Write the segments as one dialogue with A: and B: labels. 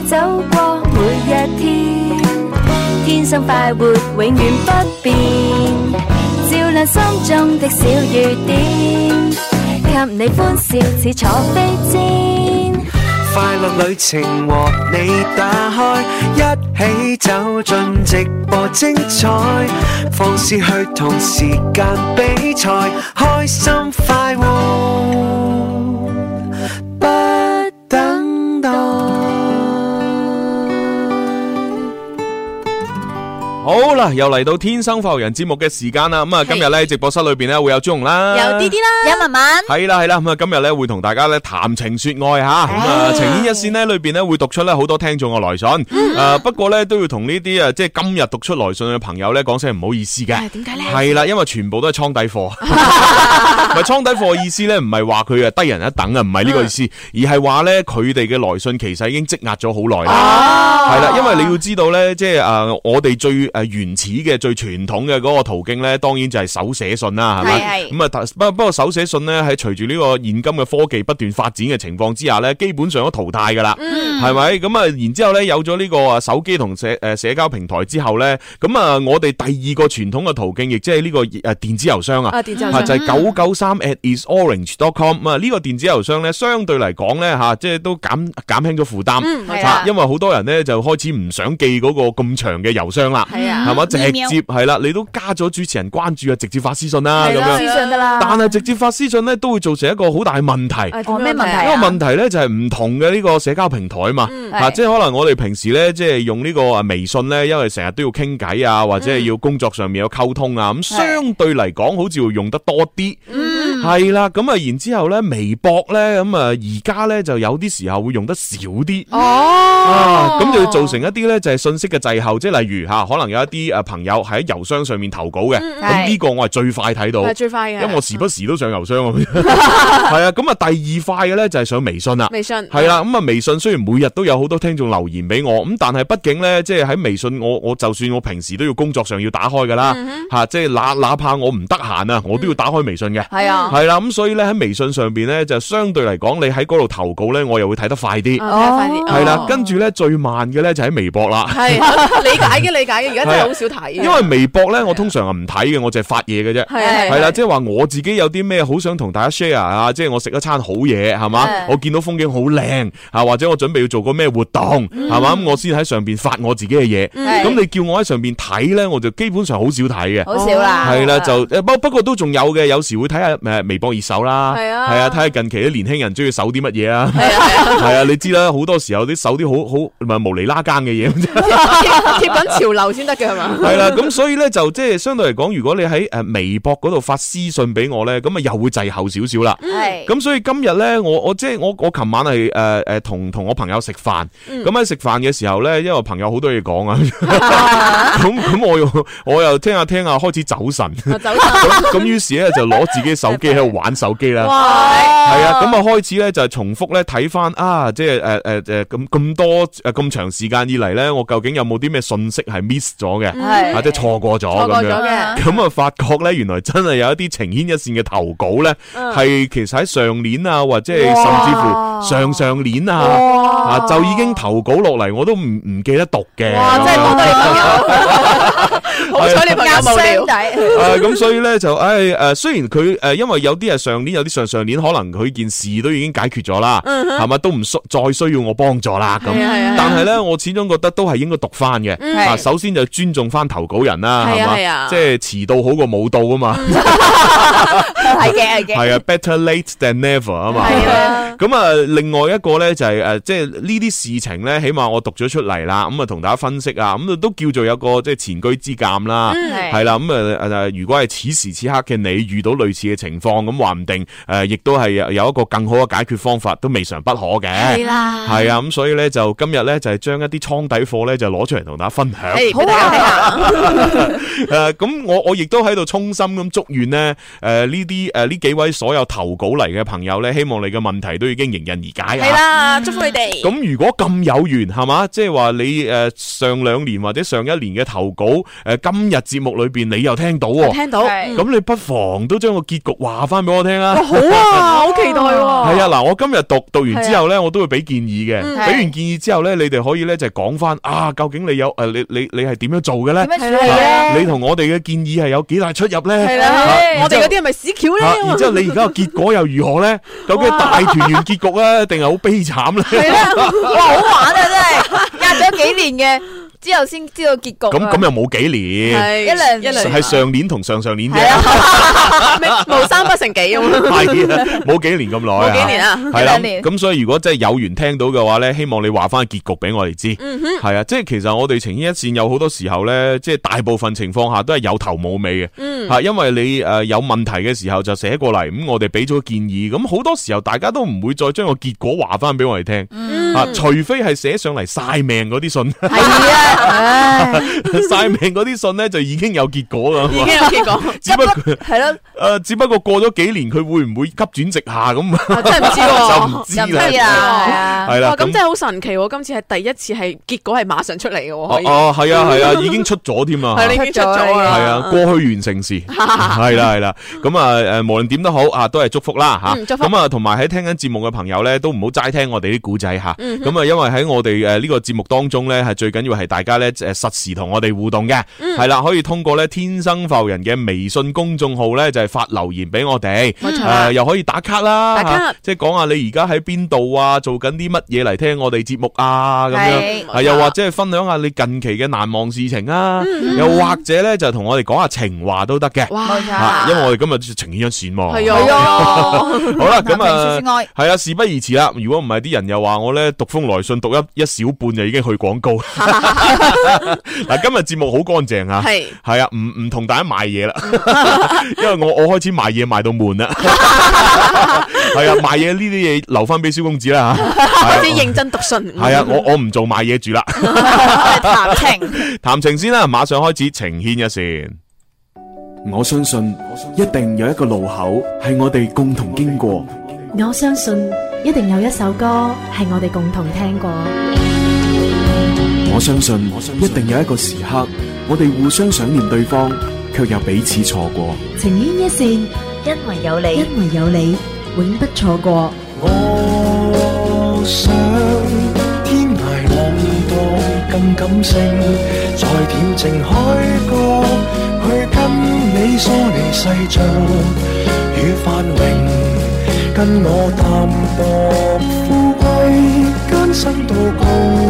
A: 走過每一天，天生快活永遠不變，照亮心中的小雨點，給你歡笑似坐飛氈。
B: 快樂旅程和你打開，一起走進直播精彩，放肆去同時間比賽，開心快活不等待。
C: 好啦，又嚟到天生快活人節目嘅時間啦。咁啊，今日咧直播室裏邊咧會有朱紅啦，
D: 有啲啦，有文文，
C: 係啦。咁啊，今日咧會同大家咧談情說愛吓。咁啊，情牽一線咧裏邊咧會讀出咧好多聽眾嘅來信。不過咧都要同呢啲即係今日讀出來信嘅朋友咧講聲唔好意思嘅。點解咧？係啦，因為全部都係倉底貨。唔係倉底貨嘅意思咧，唔係話佢低人一等啊，唔係呢個意思，而係話咧佢哋嘅來信其實已經積壓咗好耐啦。係啦，因為你要知道咧，即係我哋最原始嘅最傳統嘅嗰個途徑咧，當然就係手寫信啦，係咪？咁啊，不過手寫信咧喺隨住呢個現今嘅科技不斷發展嘅情況之下咧，基本上都淘汰噶啦，係咪？咁啊，然之後咧有咗呢個手機同社交平台之後咧，咁啊，我哋第二個傳統嘅途徑，亦即係呢個電子郵箱啊，就係993@isorange.com 啊，呢個電子郵箱咧相對嚟講咧吓，即係都減輕咗負擔，因為好多人咧就開始唔想記嗰個咁長嘅郵箱啦。係嘛？直接係啦，你都加咗主持人關注啊，直接發私信啦咁樣。私信得啦。但係直接發私信咧，都會造成一個好大嘅問題。
D: 咩問題啊？
C: 因為問題咧就係唔同嘅呢個社交平台啊嘛。即係可能我哋平時咧即係用呢個微信咧，因為成日都要傾偈啊，或者係要工作上面有溝通啊，咁相對嚟講好似會用得多啲。係啦，咁啊，然之後咧，微博咧，咁啊，而家咧就有啲時候會用得少啲。咁就會造成一啲咧就係信息嘅滯後，即係例如可能有一啲朋友喺郵箱上面投稿嘅，咁呢個我係最快睇到，係最快嘅，因為我時不時都上郵箱。係啊，咁啊，第二快嘅咧就係上微信啦。微信係啦，咁啊，微信雖然每日都有好多聽眾留言俾我，咁但係畢竟咧，即係喺微信我就算我平時都要工作上要打開噶啦，即係哪怕我唔得閒啊，我都要打開微信嘅。係啊。係啦，咁所以咧喺微信上邊咧就相對嚟講，你喺嗰度投稿咧，我又會睇得快啲。快啲。係啦，跟住咧最慢嘅咧就喺微博啦。係
D: 理解嘅，而家真係好少睇。
C: 因為微博咧，我通常係唔睇嘅，我淨係發嘢嘅啫。係啦，即係話我自己有啲咩好想同大家 share 啊，即係我食一餐好嘢，係嘛？我見到風景好靚啊，或者我準備要做個咩活動，係嘛？咁我先喺上邊發我自己嘅嘢。咁你叫我喺上邊睇咧，我就基本上好少睇嘅。好少啦。係啦，就不過都仲有嘅，有時會睇下微博熱搜啦，係啊，睇下近期啲年輕人中意搜啲乜嘢啊，係啊，你知啦，好多時候啲搜啲好無厘拉更嘅嘢，
D: 貼緊潮流先得嘅係嘛？係
C: 啦，咁所以咧就即係相對嚟講，如果你喺微博嗰度發私信俾我咧，咁啊又會滯後少少啦。係，咁所以今日咧，我琴晚係同我朋友食飯，咁喺食飯嘅時候咧，因為我朋友好多嘢講啊，咁我又聽下開始走神，咁於是咧就攞自己手機喺度玩手機啦。係啊，咁啊開始咧就係重複咧睇翻啊，即係咁多咁長時間以嚟咧，我究竟有冇啲咩信息係 miss 咗嘅，或者錯過咗咁樣？咁啊發覺咧，原來真係有一啲情牽一線嘅投稿咧，係其實喺上年啊，或者係甚至乎上年啊，就已經投稿落嚟，我都唔記得讀嘅。哇！真係幫到你朋友，好彩你朋友冇料。咁所以咧就雖然佢因為有啲係上年，有啲上年，可能佢件事都已經解決咗啦，係咪都唔再需要我幫助啦咁。但係咧，我始終覺得都係應該讀翻嘅。首先就尊重翻投稿人啦，係嘛，即係遲到好過冇到啊嘛。係啊 ，better late than never 啊嘛。咁啊，另外一個咧就係即係呢啲事情咧，起碼我讀咗出嚟啦，咁啊同大家分析啊，咁都叫做有個即係前車之鑑啦，係啦，咁如果係此時此刻嘅你遇到類似嘅情況，咁話唔定亦都係有一個更好嘅解決方法，都未嘗不可嘅。係啦，係啊，咁所以咧就今日咧就係將一啲倉底貨咧就攞出嚟同大家分享。好啊，咁我亦都喺度衷心咁祝願呢呢啲呢幾位所有投稿嚟嘅朋友咧，希望你嘅問題都已經迎刃而解啊！
D: 係啦，祝福你哋。
C: 咁如果咁有緣係嘛，即係話你上2年或者上1年嘅投稿今日節目裏邊你又聽到喎，
D: 聽到，
C: 咁你不妨都將個結局話翻俾我聽啊！
D: 好啊，好期待喎。
C: 係啊，嗱，我今日讀完之後咧，我都會俾建議嘅。俾完建議之後咧，你哋可以咧就講翻究竟你有你係點樣做嘅咧？
A: 點樣處理咧？
C: 你同我哋嘅建議係有幾大出入咧？
D: 係啦，我哋嗰啲係咪屎橋咧？
C: 然之後你而家個結果又如何咧？究竟係大團圓結局啊，定係好悲慘咧？
A: 係啦，哇，好玩啊，真係壓咗幾年嘅。之後先知道結局。咁
C: 又冇幾年，
A: 一兩
C: 係上年同上年啫，
D: 無三不成幾咁。
C: 係啊，冇幾年咁耐啊，
D: 冇幾年啊，
C: 係啦。咁所以如果真係有緣聽到嘅話咧，希望你話翻結局俾我哋知。係啊，即係其實我哋情牽一線有好多時候咧，即係大部分情況下都係有頭冇尾嘅。吓，因為你有問題嘅時候就寫過嚟，咁我哋俾咗建議，咁好多時候大家都唔會再將個結果話翻俾我哋聽。除非係寫上嚟晒命嗰啲信。係啊。晒命嗰啲信咧就已經有結果啦，
D: 已經有結果，
C: 只不過係咯，只不過過咗幾年佢會唔會急轉直下咁？
D: 真係唔知喎，
C: 就唔知啦，係啦，
D: 咁真係好神奇喎！今次係第一次係結果係馬上出嚟嘅喎，
C: 哦，係啊，已經出咗添啊，
D: 係已經出咗啦，
C: 係啊，過去完成時，係啦，咁啊，無論點都好啊，都係祝福啦吓，咁啊，同埋喺聽緊節目嘅朋友咧，都唔好齋聽我哋啲古仔吓，咁啊，因為喺我哋呢個節目當中咧，係最緊要係大家咧實時同我哋互動嘅，係啦，可以通過咧天生浮人嘅微信公眾號咧就係發留言俾我哋，又可以打卡啦，即係講下你而家喺邊度啊，做緊啲乜嘢嚟聽我哋節目啊咁樣，又或者係分享下你近期嘅難忘事情啊，又或者咧就同我哋講下情話都得嘅，因為我哋今日情牽一線嘛，係啊，好啦，咁啊係啊，事不宜遲啦，如果唔係啲人又話我咧讀封來信讀一小半就已經去廣告。嗱，今日節目好乾淨啊，係啊，唔同大家賣嘢啦，因為我開始賣嘢賣到悶啦，係啊，賣嘢呢啲嘢留翻俾蕭公子啦吓，
D: 開始認真讀信，
C: 係啊，我唔做賣嘢住啦，談情先啦，馬上開始情牽一線。
E: 我相信一定有一個路口係我哋共同經過，
F: 我相信一定有一首歌係我哋共同聽過。
E: 我相信一定有一個時刻，我哋互相想念對方，卻又彼此錯過。
F: 情牽一線，
A: 因為有你，
F: 因為有你，永不錯過。
B: 我想天涯浪蕩更感性，在恬靜海角去跟你疏離世俗與繁榮，跟我淡薄富貴艱辛到高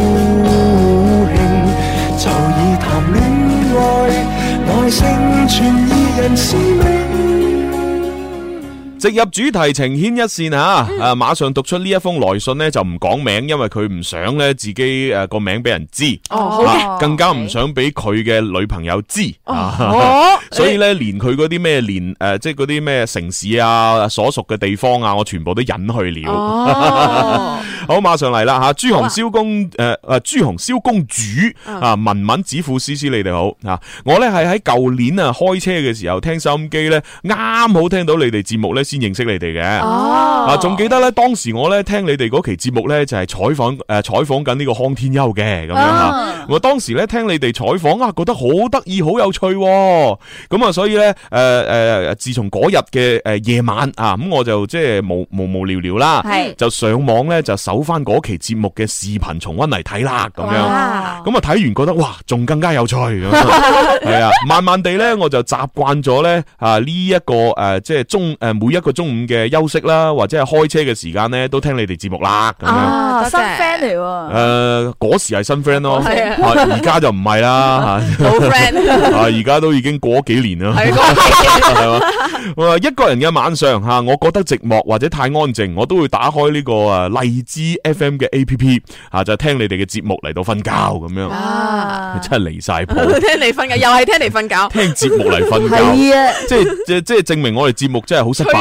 B: 興，就以談戀愛來成全二人使命。
C: 直入主題，情牽一線啊！馬上讀出呢一封來信呢，就唔講名，因為佢唔想咧自己個名俾人知，更加唔想俾佢嘅女朋友知，所以咧連佢嗰啲咩即係嗰啲咩城市啊、所屬嘅地方啊，我全部都隱去了。好，馬上嚟啦吓！朱紅蕭公朱紅蕭公主啊，文文子富思思，你哋好啊！我咧係喺舊年啊開車嘅時候聽收音機咧，啱好聽到你哋節目咧。先認識你哋嘅，仲記得咧，當時我咧聽你哋嗰期節目咧就係採訪緊呢個康天庥嘅咁樣吓，我當時咧聽你哋採訪覺得好得意好有趣，咁啊所以咧自從嗰日嘅夜晚啊，咁我就即係無聊聊啦，就上網咧就搜翻嗰期節目嘅視頻重溫嚟睇啦，咁樣，咁啊睇完覺得哇仲更加有趣，係啊，慢慢地咧我就習慣咗咧呢一個即係每一個中午嘅休息啦，或者係開車嘅時間咧，都聽你哋節目啦。咁樣
A: 新 friend 嚟喎。
C: 嗰時係新 friend 咯，而家就唔係啦。
D: 老 friend。
C: 而家都已經過咗幾年啦。係嘛？一個人嘅晚上吓，我覺得寂寞或者太安靜，我都會打開呢個荔枝 FM 嘅 APP 吓，就聽你哋嘅節目嚟到瞓覺咁樣。真係離晒譜。
D: 聽你瞓覺，又係聽你瞓覺。
C: 聽節目嚟瞓覺。
A: 係啊。
C: 即係證明我哋節目真係好失敗。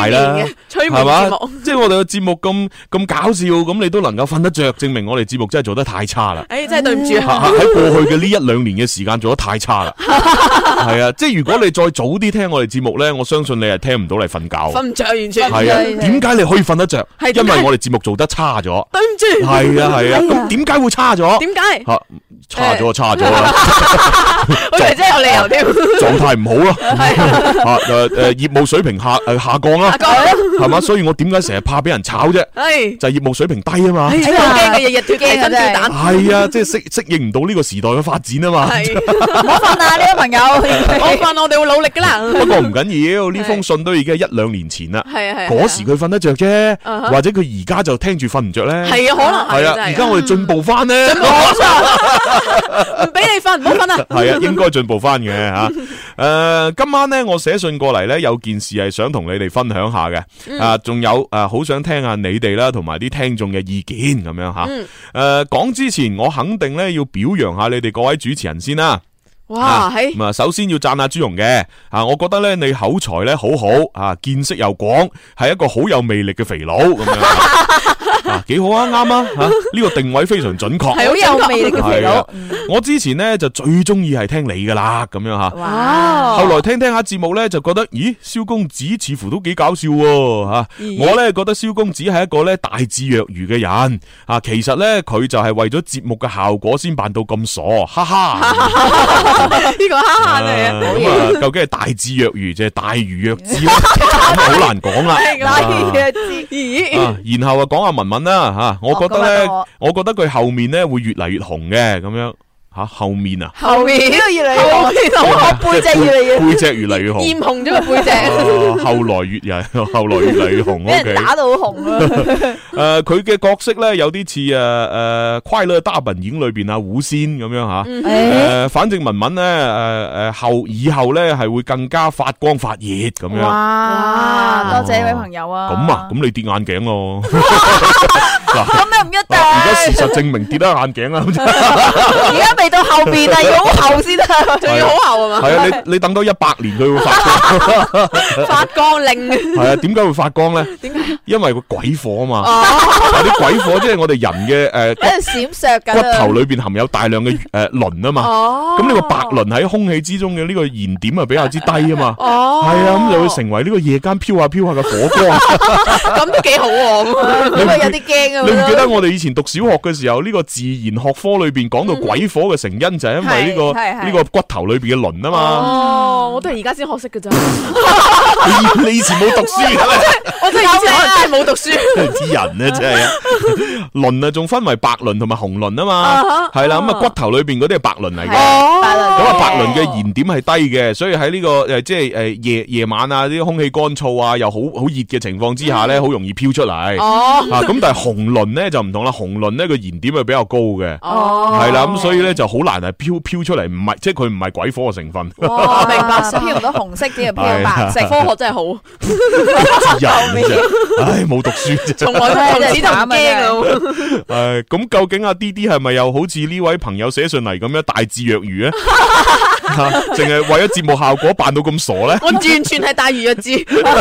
C: 大啦，
D: 催眠
C: 係嘛
D: 節目？
C: 即係我哋嘅節目咁搞笑，咁你都能夠瞓得着，證明我哋節目真係做得太差啦。
D: 真係對唔住啊！
C: 喺過去嘅呢1-2年嘅時間做得太差啦。係啊，即係如果你再早啲聽我哋節目咧，我相信你係聽唔到嚟瞓覺。
D: 瞓唔着完全。
C: 係啊，點解你可以瞓得着？
D: 係點解
C: 因為我哋節目做得差咗。
D: 對唔住。
C: 係啊，咁點解會差咗？
D: 點解？
C: 差咗啦。
D: 好似真係有理由添。
C: 狀態唔好咯。業務水平下降啦。係嘛？所以我點解成日怕俾人炒啫？就係業務水平低啊嘛。
D: 好驚嘅，日日跳雞跟跳蛋。
C: 係啊，即係適應唔到呢個時代嘅發展啊嘛。
G: 唔好瞓啊，呢位朋友。
D: 我瞓，我哋會努力噶啦。
C: 不過唔緊要，呢封信都已經係1-2年前啦。
D: 係。
C: 嗰時佢瞓得着啫，或者佢而家就聽住瞓唔着咧。係
D: 啊，可能係啊。
C: 而家我哋進步翻咧。
D: 進步唔俾你瞓，唔好瞓啊。
C: 係啊，應該進步翻嘅吓。今晚咧，我寫信過嚟咧，有件事係想同你哋分享下嘅。仲有好想聽下你哋啦，同埋啲聽眾嘅意見咁樣吓。講之前，我肯定咧要表揚下你哋各位主持人先啦。
D: 哇，
C: 咁首先要讚下朱蓉嘅，我覺得咧你口才咧好好，見識又廣，係一個好有魅力嘅肥佬咁樣，幾好啊，啱啊，呢個定位非常準確，
G: 係好有魅力嘅肥佬。
C: 我之前咧就最中意係聽你噶啦，咁樣吓，
G: 哇！
C: 後來聽下節目咧就覺得，咦，蕭公子似乎都幾搞笑喎，我咧覺得蕭公子係一個咧大智若愚嘅人，其實咧佢就係為咗節目嘅效果先扮到咁傻，哈哈。
D: 呢個哈哈嚟啊！
C: 究竟係大智若愚，定係大愚若智咧？咁好難講啦。
G: 大愚若智，
C: 咦？然後講下文文啦吓，我覺得咧，我覺得佢後面咧會越嚟越紅嘅咁樣。後面啊？
G: 後面呢個越嚟越紅，我背脊越嚟越
C: 背脊越嚟越紅，
D: 染紅咗個背脊。
C: 後來越嚟越紅，
G: 俾人打到好紅啊！
C: 佢嘅角色咧有啲似快樂大本營裏邊胡仙咁樣吓。反正文文咧以後咧係會更加發光發熱咁樣。
G: 哇！多謝呢位朋友啊！
C: 咁你跌眼鏡咯。
G: 咁又唔一定。
C: 而家事實證明跌得眼鏡啦。
G: 而家未到後邊啊，要好後先得，
D: 仲要好後啊嘛。
C: 係啊，你等多100年佢會發光。
D: 發光令。
C: 係啊，點解會發光咧？
D: 點解？
C: 因為個鬼火啊嘛。啲鬼火即係我哋人嘅
G: 喺度閃爍緊。
C: 骨頭裏邊含有大量嘅磷啊嘛。咁呢個白磷喺空氣之中嘅呢個燃點啊比較之低啊嘛。係啊，咁就會成為呢個夜間飄下嘅火光。
D: 咁都幾好喎。
G: 呢個有啲驚啊！
C: 你唔記得我哋以前讀小學嘅時候，呢個自然學科裏邊講到鬼火嘅成因就係因為呢個骨頭裏邊嘅磷啊嘛。
D: 哦，我都係而家先學識嘅咋。
C: 你以前冇讀書嘅咩？
D: 我真係以前真係冇讀書。
C: 啲人咧真係磷啊，仲分為白磷同埋紅磷啊嘛。係啦，咁啊骨頭裏邊嗰啲係白磷嚟嘅。咁啊白磷嘅燃點係低嘅，所以喺呢個即係夜晚啊，啲空氣乾燥啊，又好熱嘅情況之下咧，好容易飄出嚟。咁但係紅磷咧就唔同啦，紅磷咧個燃點係比較高嘅。係啦，咁所以咧就好難係飄出嚟，唔係即係佢唔係鬼火嘅成分。
G: 明白，飄唔到紅色啲，飄白色。
D: 科學真係好。
C: 人啫，唉，冇讀書啫，
D: 從此就唔驚啊。
C: 咁究竟阿 D 係咪又好似呢位朋友寫上嚟咁樣大智若愚咧？淨係為咗節目效果扮到咁傻咧？
D: 我完全係大愚若智，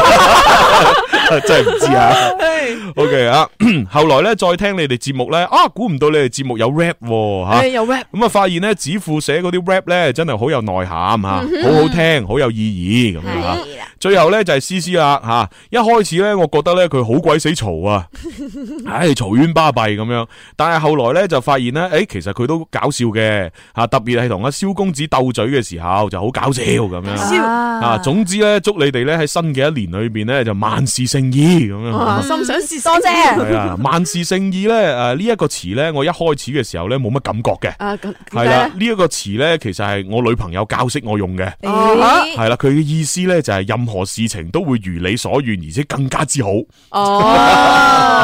C: 真係唔知啊。OK 啊，後來咧再聽你哋節目咧，估唔到你哋節目有 rap 吓，
D: 有 rap。
C: 咁啊發現咧子富寫嗰啲 rap 咧真係好有內涵吓，好好聽，好有意義咁樣吓。最後咧就係思思啦吓，一開始咧我覺得咧佢好鬼死嘈啊，嘈冤巴閉咁樣，但係後來咧就發現咧，其實佢都搞笑嘅吓，特別係同阿蕭公子鬥嘴嘅時候就好搞笑咁樣。總之咧祝你哋咧喺新嘅一年裏邊咧就萬事勝意咁樣。
D: 心想事
G: 多謝。
C: 係啊，萬事勝意咧呢一個詞咧，我一開始嘅時候咧冇乜感覺嘅。係啦，呢一個詞咧其實係我女朋友教識我用嘅。係啦，佢嘅意思咧就係任何事情都會如你所願，而且更加之好。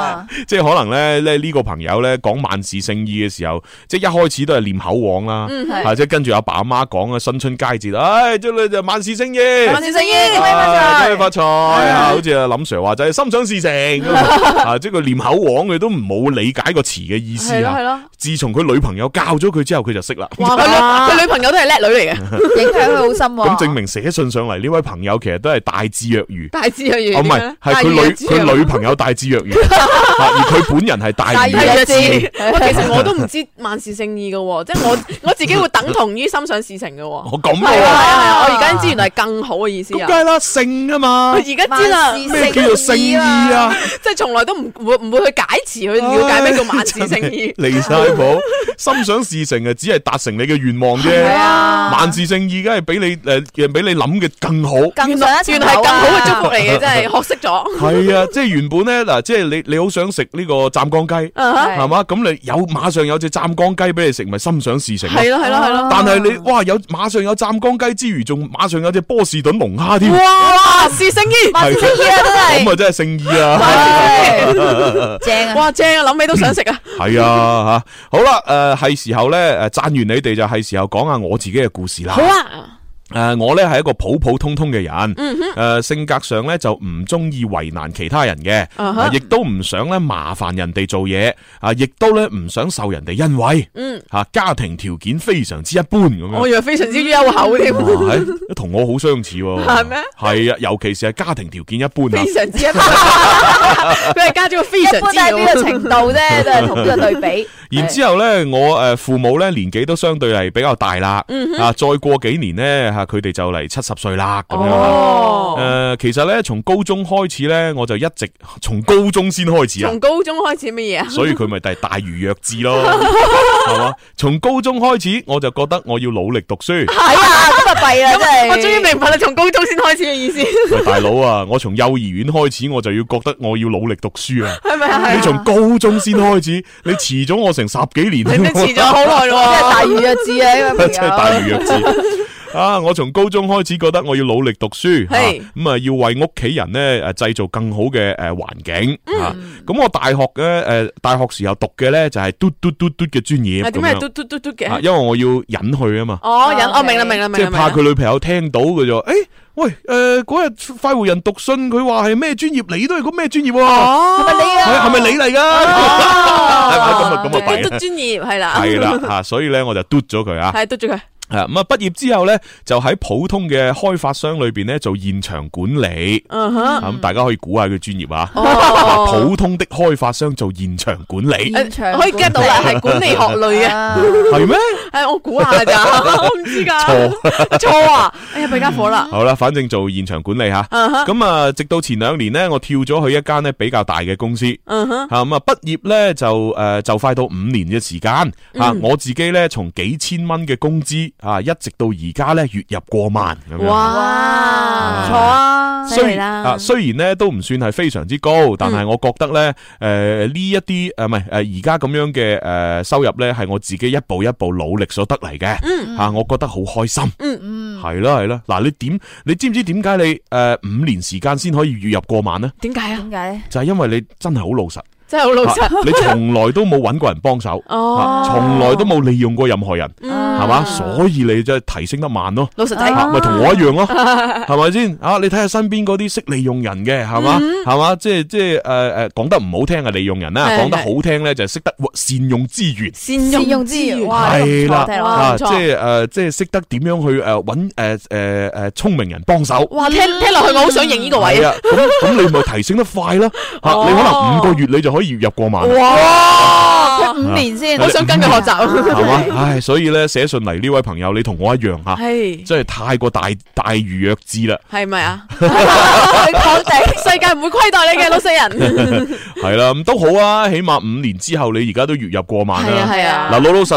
C: 即係可能咧呢個朋友咧講萬事勝意嘅時候，即係一開始都係念口簧啦，即係跟住阿爸阿媽講啊，新春佳節，祝你就萬事勝意，
G: 萬事勝意，恭喜
C: 發財，好似阿林 Sir 話就係心想事成，即係佢念口簧，佢都冇理解個詞嘅意思啊。自從佢女朋友教咗佢之後，佢就識啦。
D: 哇，佢女朋友都係叻女嚟嘅，
G: 影響佢好深。
C: 咁證明寫信上嚟呢位朋友其實都係大智若愚。
D: 大智若愚，
C: 唔係，係佢女朋友大智若愚，而佢本人係大愚若智。
D: 其實我都唔知萬事勝意嘅，即係我自己會等同於心想事成嘅。
C: 我咁啊，
D: 我而家知原來係更好嘅意思啊。
C: 梗係啦，勝啊嘛。
D: 我而家知啦，
C: 咩叫做勝意啊？
D: 即係從來都唔會去解詞去了解咩叫萬事勝意。
C: 離晒譜，心想事成啊，只係達成你嘅願望啫。萬事勝意，梗係俾你諗嘅更好。
D: 原來係更好嘅祝福嚟嘅，真係學識咗。
C: 係啊，即係原本咧嗱，即係你好想食呢個湛江雞，係嘛？咁你馬上有隻湛江雞俾你食，咪心想事成。係
D: 咯。
C: 但係你馬上有湛江雞之餘，仲馬上有隻波士頓龍蝦添。
D: 哇！事勝意，萬事勝意啊，真係。
C: 咁啊，真係勝意啊！
G: 正啊！
D: 哇，正啊！諗起都想食啊！
C: 係啊，吓好啦，係時候咧，讚完你哋就係時候講下我自己嘅故事啦。
D: 好啊。
C: 我咧係一個普普通通嘅人，性格上咧就唔中意為難其他人嘅，亦都唔想咧麻煩人哋做嘢，亦都咧唔想受人哋恩惠，家庭條件非常之一般咁樣。
D: 我以為非常之優厚添，
C: 同我好相似喎。
D: 係咩？係
C: 啊，尤其是係家庭條件一般，
D: 非常之一般。佢係加咗個非常之，
G: 一般係呢個程度啫，都係同呢個對比。
C: 然之後咧，我父母咧年紀都相對係比較大啦，再過幾年咧。佢哋就嚟70歲啦，咁樣。其實咧，從高中開始咧，我就一直從高中先開始啊。
D: 從高中開始乜嘢啊？
C: 所以佢咪就係大愚弱智咯，係嘛？從高中開始，我就覺得我要努力讀書。
G: 係啊，咁啊弊啦，真係。
D: 我終於明白你從高中先開始嘅意思。
C: 喂，大佬啊，我從幼兒園開始，我就要覺得我要努力讀書啊。
D: 係咪啊？
C: 你從高中先開始，你遲咗我成10幾年。
D: 你遲咗好耐咯，
G: 真係大愚弱智啊！呢個朋友。
C: 真係大愚弱智。我從高中開始覺得我要努力讀書，咁啊要為屋企人咧製造更好嘅環境。咁我大學大學時候讀嘅咧就係嘟嘅專業。
D: 點解係嘟嘅？
C: 因為我要隱去啊嘛。
D: 我明啦，
C: 即係怕佢女朋友聽到嘅就，喂，嗰日快活人讀信，佢話係咩專業，你都係個咩專業？
G: 係咪你啊？
C: 係咪你嚟噶？咁啊弊啦。
D: 嘟專業係啦。
C: 係啦，所以咧我就嘟咗佢啊。
D: 係嘟咗佢。
C: 咁啊！畢業之後咧，就喺普通嘅開發商裏邊咧做現場管理。咁大家可以估下佢專業啊。普通的開發商做現場管理，
D: 可以 get 到啦，係管理學類嘅。
C: 係咩？
D: 係我估下咋，我唔知噶。錯啊！哎呀，弊家伙啦。
C: 好啦，反正做現場管理吓。咁啊，直到前2年咧，我跳咗去一間咧比較大嘅公司。咁啊，畢業咧就快到5年嘅時間。我自己咧從幾千蚊嘅工資。一直到而家咧月入過萬咁樣。
G: 哇，唔錯啊！
C: 雖然咧都唔算係非常之高，但係我覺得咧呢一啲而家咁樣嘅收入咧係我自己一步一步努力所得嚟嘅。我覺得好開心。係啦。嗱，你知唔知點解你5年時間先可以月入過萬呢？
D: 點解啊？
G: 點解咧？
C: 就係因為你真係好老實。
D: 真係好老實，
C: 你從來都冇揾過人幫手，從來都冇利用過任何人，係嘛？所以你就提升得慢咯。
D: 老實睇，
C: 咪同我一樣咯，係咪先？你睇下身邊嗰啲識利用人嘅，係嘛？係嘛？即係講得唔好聽係利用人啦，講得好聽咧就係識得善用資源。
G: 善用資源，
C: 係啦，即係識得點樣去揾聰明人幫手。
D: 哇，聽落去我好想認呢個位啊！
C: 咁你咪提升得快咯，你可能5個月你就可以月入過萬。
G: 哇！佢5年先，
D: 我想跟佢學習，
C: 係嘛？唉，所以咧寫信嚟呢位朋友，你同我一樣吓，真係太過大愚弱智啦，
D: 係咪啊？確定世界唔會虧待你嘅，老實人。
C: 係啦，咁都好啊，起碼5年之後你而家都月入過萬啦。
D: 係啊。
C: 嗱，老老實實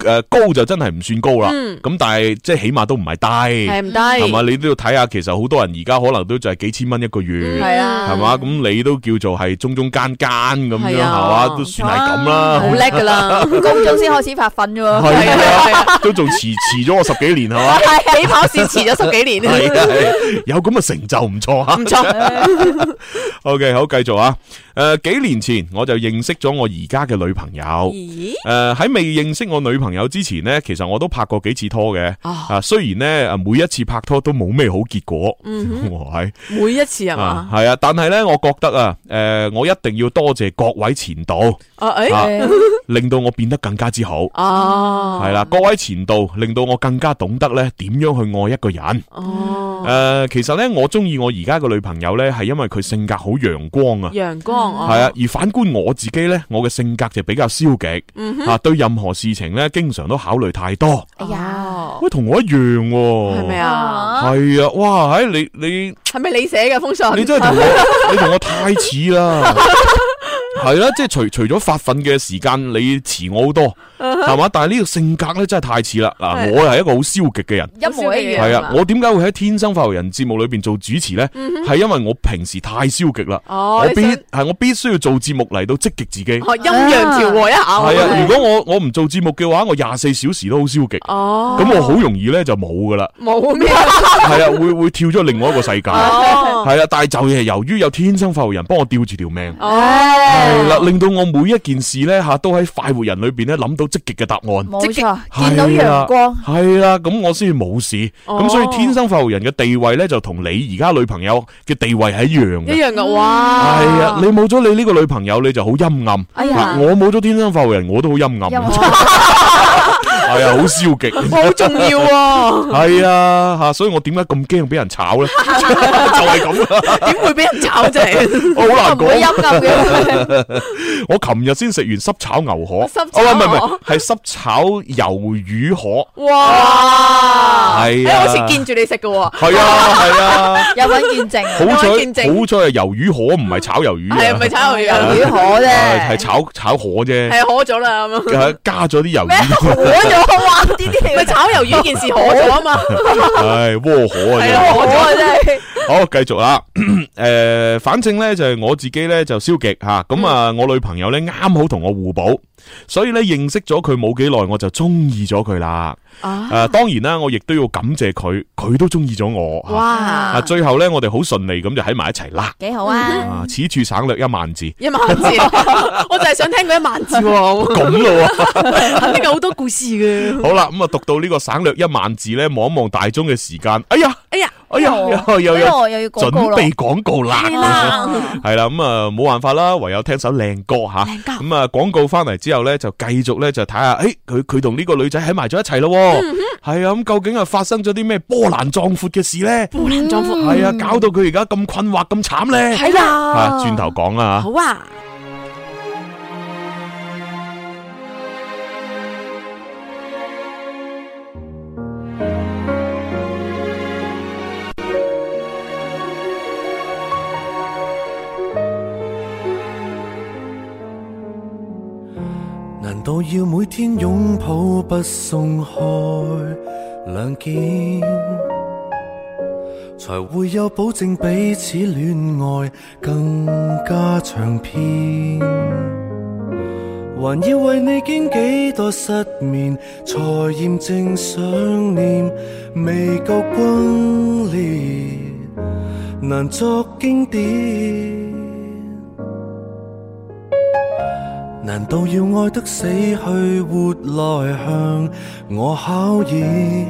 C: 高就真係唔算高啦。咁但係即係起碼都唔係低，
D: 係唔低，
C: 係嘛？你都要睇下，其實好多人而家可能都就係幾千蚊一個月，
D: 係啊，
C: 係嘛？咁你都叫做係中間咁樣，係嘛？都算係咁啦，
D: 好叻噶啦，
G: 高中先開始發奮啫喎，
C: 係啊，都仲遲咗我10幾年係嘛？
D: 起跑線遲咗10幾年，
C: 係有咁嘅成就唔錯啊，
D: 唔錯。
C: OK， 好，繼續啊。幾年前我就認識咗我而家嘅女朋友。喺未認識我女朋友之前呢，其實我都拍過幾次拖嘅。雖然呢每一次拍拖都冇咩好結果。
D: 每一次係嘛？
C: 係啊，但係呢，我覺得啊，我一定要多謝各位前度，令到我變得更加之好。係啦，各位前度令到我更加懂得呢點樣去愛一個人。其實呢，我中意我而家嘅女朋友呢，係因為佢性格好陽光啊。
D: 陽光
C: 係啊，而反觀我自己呢，我嘅性格就比較消極，對任何事情呢，經常都考慮太多。
G: 哎呀，
C: 喂，同我一樣喎，
D: 係咪啊？
C: 係啊，哇，你
D: 係咪你寫嘅封信？
C: 你真係你同我太似啦。係啦，即係除咗發奮嘅時間，你遲我好多，係嘛？但係呢個性格咧真係太似啦。嗱，我係一個好消極嘅人，
G: 一模一樣。
C: 係啊，我點解會喺天生發育人節目裏邊做主持咧？係因為我平時太消極啦。我必須要做節目嚟到積極自己，陰
D: 陽調和一下。
C: 係啊，如果我唔做節目嘅話，我24小時都好消極。咁我好容易咧就冇噶啦。冇咩？係啊，會跳咗另外一個世界。係啊，但係就係由於有天生發育人幫我吊住條命。係啦，令到我每一件事咧都喺快活人裏邊咧諗到積極嘅答案，
G: 冇錯，見到陽光，
C: 係啦，咁我先至冇事。咁所以天生快活人嘅地位咧就同你而家女朋友嘅地位係一樣嘅，
D: 一樣噶，哇！
C: 係啊，你冇咗你呢個女朋友，你就好陰暗。我冇咗天生快活人，我都好陰暗。係啊，好消極，
D: 好重要喎。
C: 係啊，吓，所以我點解咁驚俾人炒咧？就係咁啦。點會俾人炒啫？我好難講。會陰暗嘅。我琴日先食完濕炒牛河，唔係，係濕炒魷魚河。哇！係啊，
D: 好似見住你食嘅喎。
C: 係啊，
G: 有份見證。
C: 好彩係魷魚河，唔係炒魷魚。
D: 係唔係炒魷
G: 魚河啫？
C: 係炒河啫。係
D: 河咗啦咁樣。
C: 加咗啲魷魚。
G: 河咗，哇！呢啲
D: 咪炒魷魚件事河咗啊嘛。
C: 係窩河啊！
G: 係啊，河啊真係。
C: 好，繼續啦。反正咧就係我自己咧就消極吓，咁啊我女朋友咧啱好同我互補，所以咧認識咗佢冇幾耐，我就中意咗佢啦。當然啦，我亦都要感謝佢，佢都中意咗我。哇！最後咧我哋好順利咁就喺埋一齊啦。
G: 幾好啊！
C: 此處省略1萬字。
D: 1萬字，我就係想聽嗰1萬字。
C: 咁咯，
D: 肯定有好多故事嘅。
C: 好啦，咁啊讀到呢個省略1萬字咧，望一望大鐘嘅時間，哎呀，又要準備廣告啦，係啦，咁啊冇辦法啦，唯有聽首靚歌吓，咁啊廣告翻嚟之後咧，就繼續咧就睇下，佢同呢個女仔喺埋咗一齊咯，係啊，咁究竟係發生咗啲咩波瀾壯闊嘅事咧？
D: 波瀾壯闊
C: 係啊，搞到佢而家咁困惑咁慘咧？
D: 係啊，
C: 轉頭講啦吓。
D: 好啊。
B: 難道要每天擁抱不鬆開兩肩，才會有保證彼此戀愛更加長篇？還要為你經幾多失眠，才驗證想念未夠轟烈，難作經典。難道要愛得死去活來向我考驗？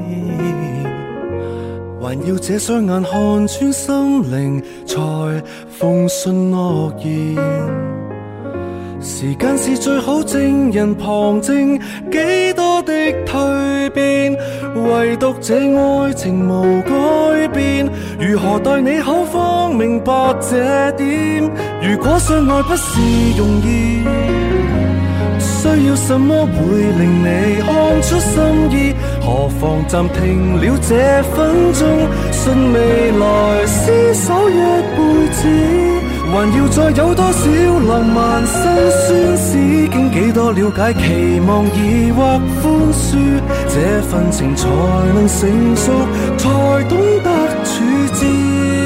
B: 還要這雙眼看穿心靈才奉信諾言？時間是最好證人，旁證幾多的蛻變，唯獨這愛情無改變。如何待你口方明白這點？如果相愛不是容易，需要什麼會令你看出心意？何妨暫停了這分鐘，信未來廝守一輩子。 還要再有多少浪漫辛酸？史經幾多了解，期望疑惑寬恕，這份情才能成熟，才懂得處置。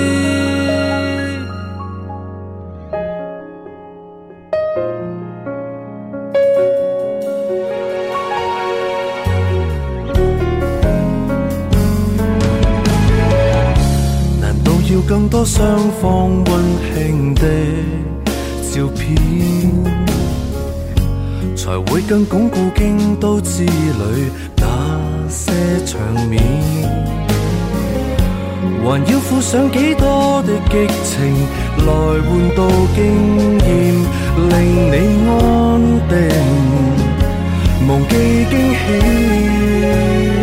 B: 要更多雙方溫馨的照片，才會更鞏固京都之旅那些場面。還要付上幾多的激情來換到經驗，令你安定，忘記驚喜。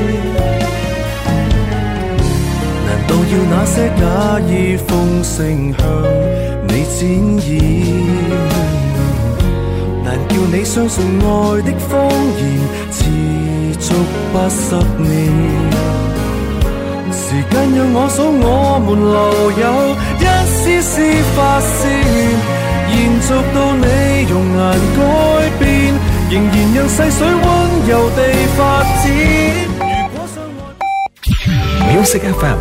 B: 難道要那些假意奉承向你展現？難叫你相信愛的謊言持續80年。時間讓我數我們留有一絲絲發線，延續到你容顏改變，仍然讓細水溫柔地發展。如果相愛
E: Music FM。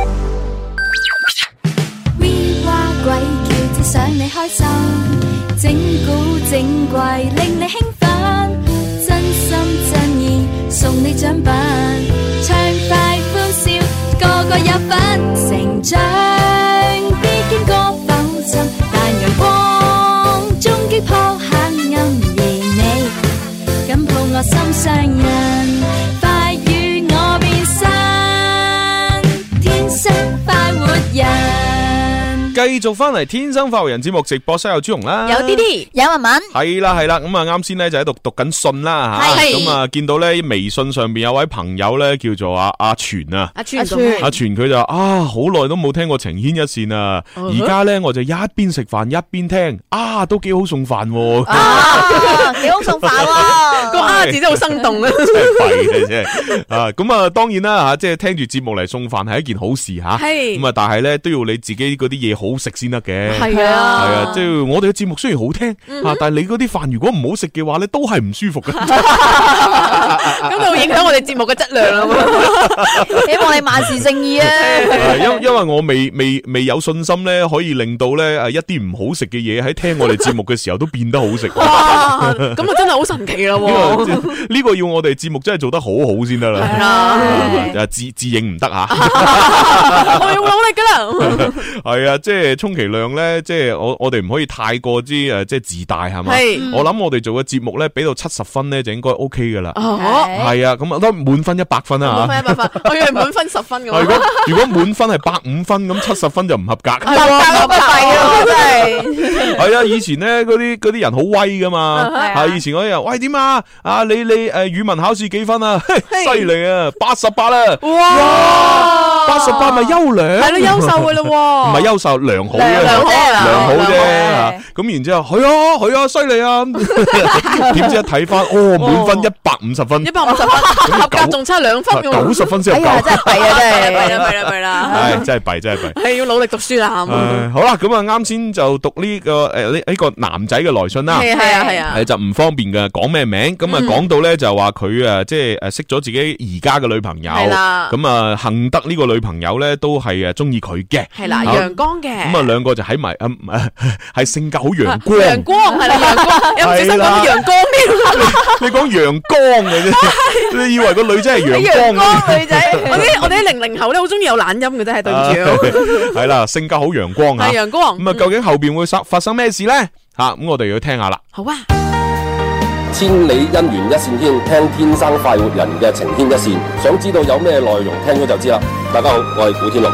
A: 鬼叫只想你開心，整蠱整怪令你興奮，真心真意送你獎品，暢快歡笑個個有份，成長必經過浮沉，但陽光終擊破黑暗，而你緊抱我心上人，快與我變身，天生快活人。
C: 繼續翻嚟天生快活人節目直播室有朱紅啦，
D: 有啲啲，有文文，
C: 係啦，咁啊啱先咧就喺度讀緊信啦吓，咁啊見到咧微信上邊有位朋友咧叫做阿全啊，阿全佢就啊好耐都冇聽過情牽一線啊，而家咧我就一邊食飯一邊聽，啊都幾好送飯喎，
G: 幾好送飯喎，
D: 個啊字真係好生動啊，
C: 真係弊嘅啫，啊咁啊當然啦吓，即係聽住節目嚟送飯係一件好事吓，咁啊但係咧都要你自己嗰啲嘢好食先得嘅，係啊，即係我哋嘅節目雖然好聽，但係你嗰啲飯如果唔好食嘅話咧，都係唔舒服嘅，
D: 咁就會影響我哋節目嘅質量啦。
G: 希望你萬事勝意啊！
C: 因為我未有信心咧，可以令到咧一啲唔好食嘅嘢喺聽我哋節目嘅時候都變得好食。
D: 哇！咁啊真係好神奇啦！
C: 呢個要我哋節目真係做得好好先得啦。係啊，自認唔得吓，
D: 我要努力噶啦。
C: 係啊，即係充其量咧，即係我哋唔可以太過之即係自大係嘛。我諗我哋做嘅節目咧，俾到70分咧就應該 OK 噶啦。係啊，咁啊都滿分100分啊。
D: 滿分100分，我以為滿分10分咁。
C: 如果滿分係105分，咁70分就唔合格。
G: 係啊，真係。
C: 係啊，以前咧嗰啲人好威噶嘛。係以前嗰啲人，喂點啊？啊你語文考試幾分啊？犀利啊，88啦。哇！88咪優良。係咯，優秀噶啦。唔係優秀，良好啫，良好啫。咁然之後，係啊，犀利啊！點知一睇翻，滿分150分，150分，
D: 合格仲差2分
C: ，90分先合格。
G: 真係弊啊，真
D: 係弊啦。
C: 係真係弊，
D: 係要努力讀書啦。
C: 好啦，咁啊，啱先就讀呢個呢個男仔嘅來信啦。係啊，就唔方便嘅，講咩名？咁啊，講到咧就話佢即係識咗自己而家嘅女朋友。係啦。咁啊，幸得呢個女朋友咧都係中意佢嘅。
D: 係啦，陽光嘅。
C: 咁啊，兩個就喺埋係性格好陽光。
D: 陽光係啦，陽光。有唔小心講陽光咩？
C: 你講陽光嘅啫，你以為個女仔係陽光
D: 女仔？我哋啲00後咧好中意有懶音嘅啫，係對唔住。
C: 係啦，性格好陽光啊。
D: 係陽光。
C: 咁啊，究竟後邊會發生咩事咧？咁我哋要聽下啦。
D: 好啊。
H: 千里姻緣一線牽，聽天生快活人嘅情牽一線。想知道有咩內容，聽咗就知啦。大家好，我係古天樂。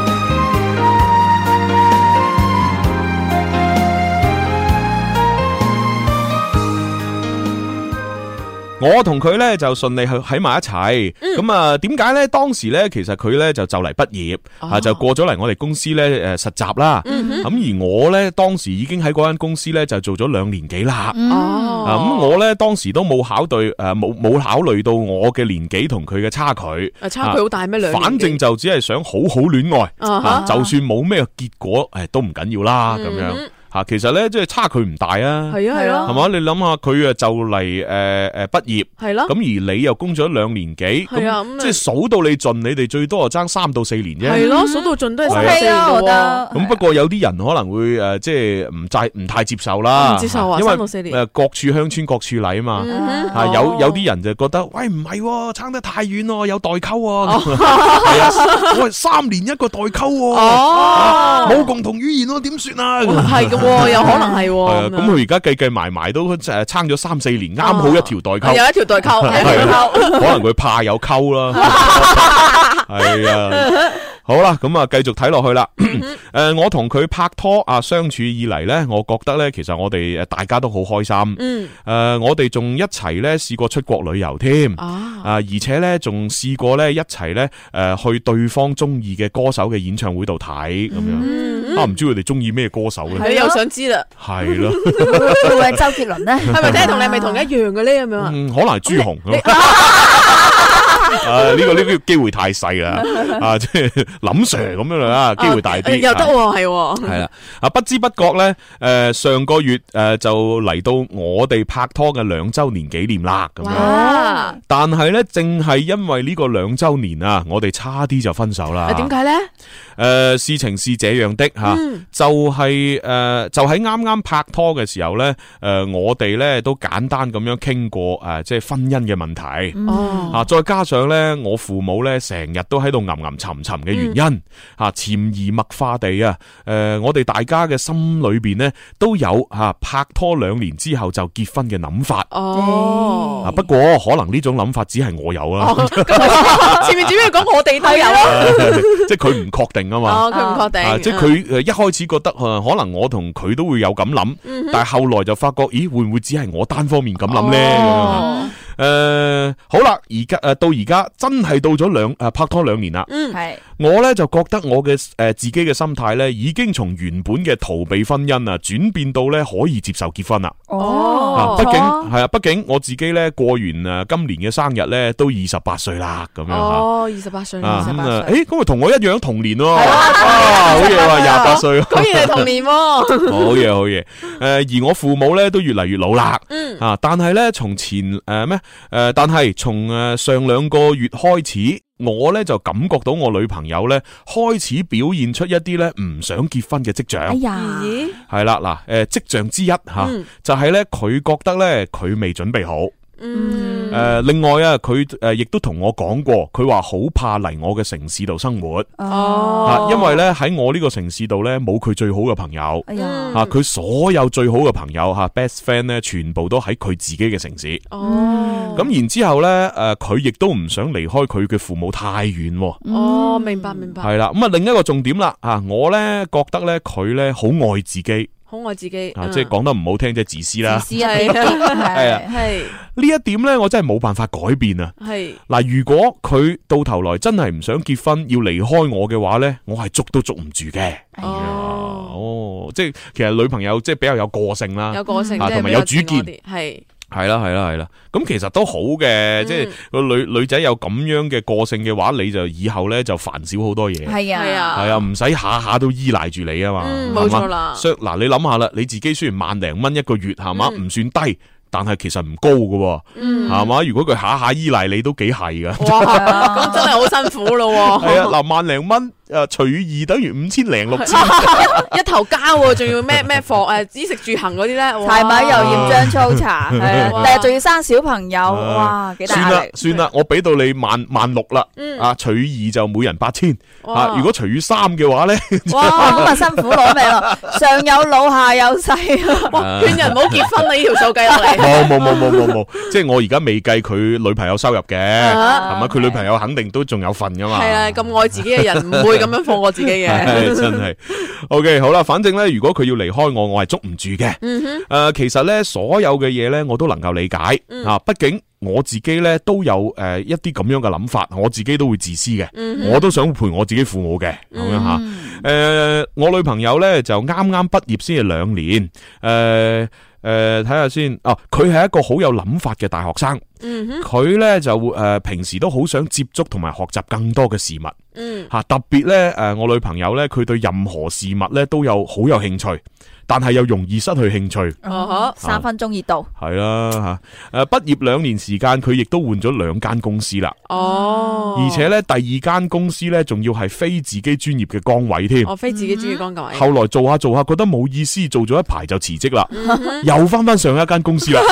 C: 我同佢咧就順利去喺埋一齊，咁啊點解咧？當時咧其實佢咧就嚟畢業，就過咗嚟我哋公司咧實習啦。咁而我咧當時已經喺嗰間公司咧就做咗2年幾啦。咁我咧當時都冇考慮到我嘅年紀同佢嘅差距。
D: 差距好大咩？2年？
C: 反正就只係想好好戀愛，就算冇咩結果，都唔緊要啦咁樣。 吓，其實咧即係差距唔大啊。
D: 係啊係啊，
C: 係嘛？你諗下佢啊就嚟畢業，
D: 係咯。
C: 咁而你又供咗2年幾，咁即係數到你盡，你哋最多就爭3到4年啫。
D: 係咯，數到盡都係3、4年
G: 我覺得。
C: 咁不過有啲人可能會即係唔太接受啦。
D: 唔接受啊，3到4年。
C: 各處鄉村各處例啊嘛。有啲人就覺得，喂唔係，差得太遠咯，有代溝喎。係啊，喂3年一個代溝喎。冇共同語言咯，點算啊？
D: 係嘅，有可能係。
C: 咁佢而家計埋都差咗3、4年，啱好一條代溝。
D: 有一條代溝，
C: 可能佢怕有溝啦。係啊。好啦，咁啊，繼續睇落去啦。我同佢拍拖相處以嚟咧，我覺得咧，其實我哋大家都好開心。我哋仲一齊咧試過出國旅遊添。而且咧仲試過咧一齊咧去對方中意嘅歌手嘅演唱會度睇咁樣。唔知佢哋中意咩歌手咧？
D: 你又想知啦？
C: 係咯，
G: 會唔會係周杰倫咧？
D: 係咪真係同你係咪同一樣嘅咧？咁樣
C: 可能係朱紅。呢個機會太細啦，即係林 Sir 咁樣啦，機會大啲。
D: 又得係
C: 啦，不知不覺咧，上個月就嚟到我哋拍拖嘅2周年紀念啦，咁樣。但係咧，正係因為呢個2周年啊，我哋差啲就分手啦。
D: 點解咧？
C: 事情是這樣的吓，就喺啱啱拍拖嘅時候咧，我哋咧都簡單咁樣傾過即係婚姻嘅問題。再加上咧，我父母咧成日都喺度吟沉沉嘅原因，潛移默化地我哋大家嘅心裏邊咧都有拍拖2年之後就結婚嘅諗法。不過可能呢種諗法只係我有啦。
D: 前面只要講我哋都有，
C: 即係佢唔確定啊嘛。
D: 佢唔確定，
C: 即係佢一開始覺得可能我同佢都會有咁諗，但係後來就發覺，咦，會唔會只係我單方面咁諗咧？好啦，到而家真係到咗拍拖2年啦。
G: 係
C: 我咧就覺得我嘅自己嘅心態咧，已經從原本嘅逃避婚姻轉變到咧可以接受結婚啦。畢竟我自己咧過完今年嘅生日咧都28歲啦，咁樣
D: 28歲，
C: 咁咪同我一樣同年喎。好嘢喎，28歲，
D: 果然係同年喎。
C: 好嘢。而我父母咧都越嚟越老啦。但係咧從但係從上2個月開始，我咧就感覺到我女朋友咧開始表現出一啲咧唔想結婚嘅跡象。係啦，嗱，跡象之一就係咧佢覺得咧佢未準備好。另外佢亦都同我講過，佢話好怕嚟我嘅城市度生活。因為咧喺我呢個城市度咧冇佢最好嘅朋友。佢所有最好嘅朋友best friend 咧全部都喺佢自己嘅城市。咁然之後咧佢亦都唔想離開佢嘅父母太遠。
D: 明白。
C: 係啦，咁另一個重點啦，我咧覺得咧佢咧好愛自己。
D: 好愛自己，
C: 即係講得唔好聽，即係自私啦。
G: 自私係
C: 呢一點咧，我真係冇辦法改變啊。
D: 係
C: 嗱，如果佢到頭來真係唔想結婚，要離開我嘅話咧，我係捉都捉唔住嘅。即係其實女朋友即係比較有個性啦，同埋有主見，係啦，咁其實都好嘅，即係個女仔有咁樣嘅個性嘅話，你就以後咧就煩少好多嘢。
G: 係
C: 啊，唔使下下都依賴住你啊嘛。
D: 冇錯啦。
C: 嗱，你諗下啦，你自己雖然1萬零蚊一個月係嘛，唔算低。但係其實唔高㗎，係嘛？如果佢下下依賴你都幾係噶。
D: 哇，咁真係好辛苦咯。
C: 係啊，嗱，1萬零蚊除以2等於5000零6000，
D: 一頭家，仲要咩貨衣食住行嗰啲咧，
G: 柴米油鹽醬醋茶，但係仲要生小朋友，哇，幾大壓力。
C: 算啦，我俾到你16000啦，除以2就每人8000，如果除以3嘅話咧，
G: 哇，咁啊辛苦攞命咯，上有老下有細，
D: 勸人唔好結婚啦，呢條數計落嚟。
C: 冇，即係我而家未計佢女朋友收入嘅，係咪？佢女朋友肯定都仲有份噶嘛。係
D: 啊，咁愛自己嘅人唔會咁樣放過自己嘅。
C: 真係。OK， 好啦，反正咧，如果佢要離開我係捉唔住嘅。其實咧，所有嘅嘢咧，我都能夠理解。畢竟我自己咧都有一啲咁樣嘅諗法，我自己都會自私嘅，我都想陪我自己父母嘅咁樣吓。我女朋友咧就啱啱畢業先係2年。睇下先，佢係一個好有諗法嘅大學生。佢咧就平時都好想接觸同埋學習更多嘅事物。特別咧我女朋友咧佢對任何事物咧都有好有興趣。 但係又容易失去興趣。
G: 3分鐘熱度。
C: 係啦吓，畢業2年時間，佢亦都換咗2間公司啦。而且咧第2間公司咧，仲要係非自己專業嘅崗位添。
D: 非自己專業崗位。
C: 後來做下做下，覺得冇意思，做咗一排就辭職啦，又翻上一間公司啦。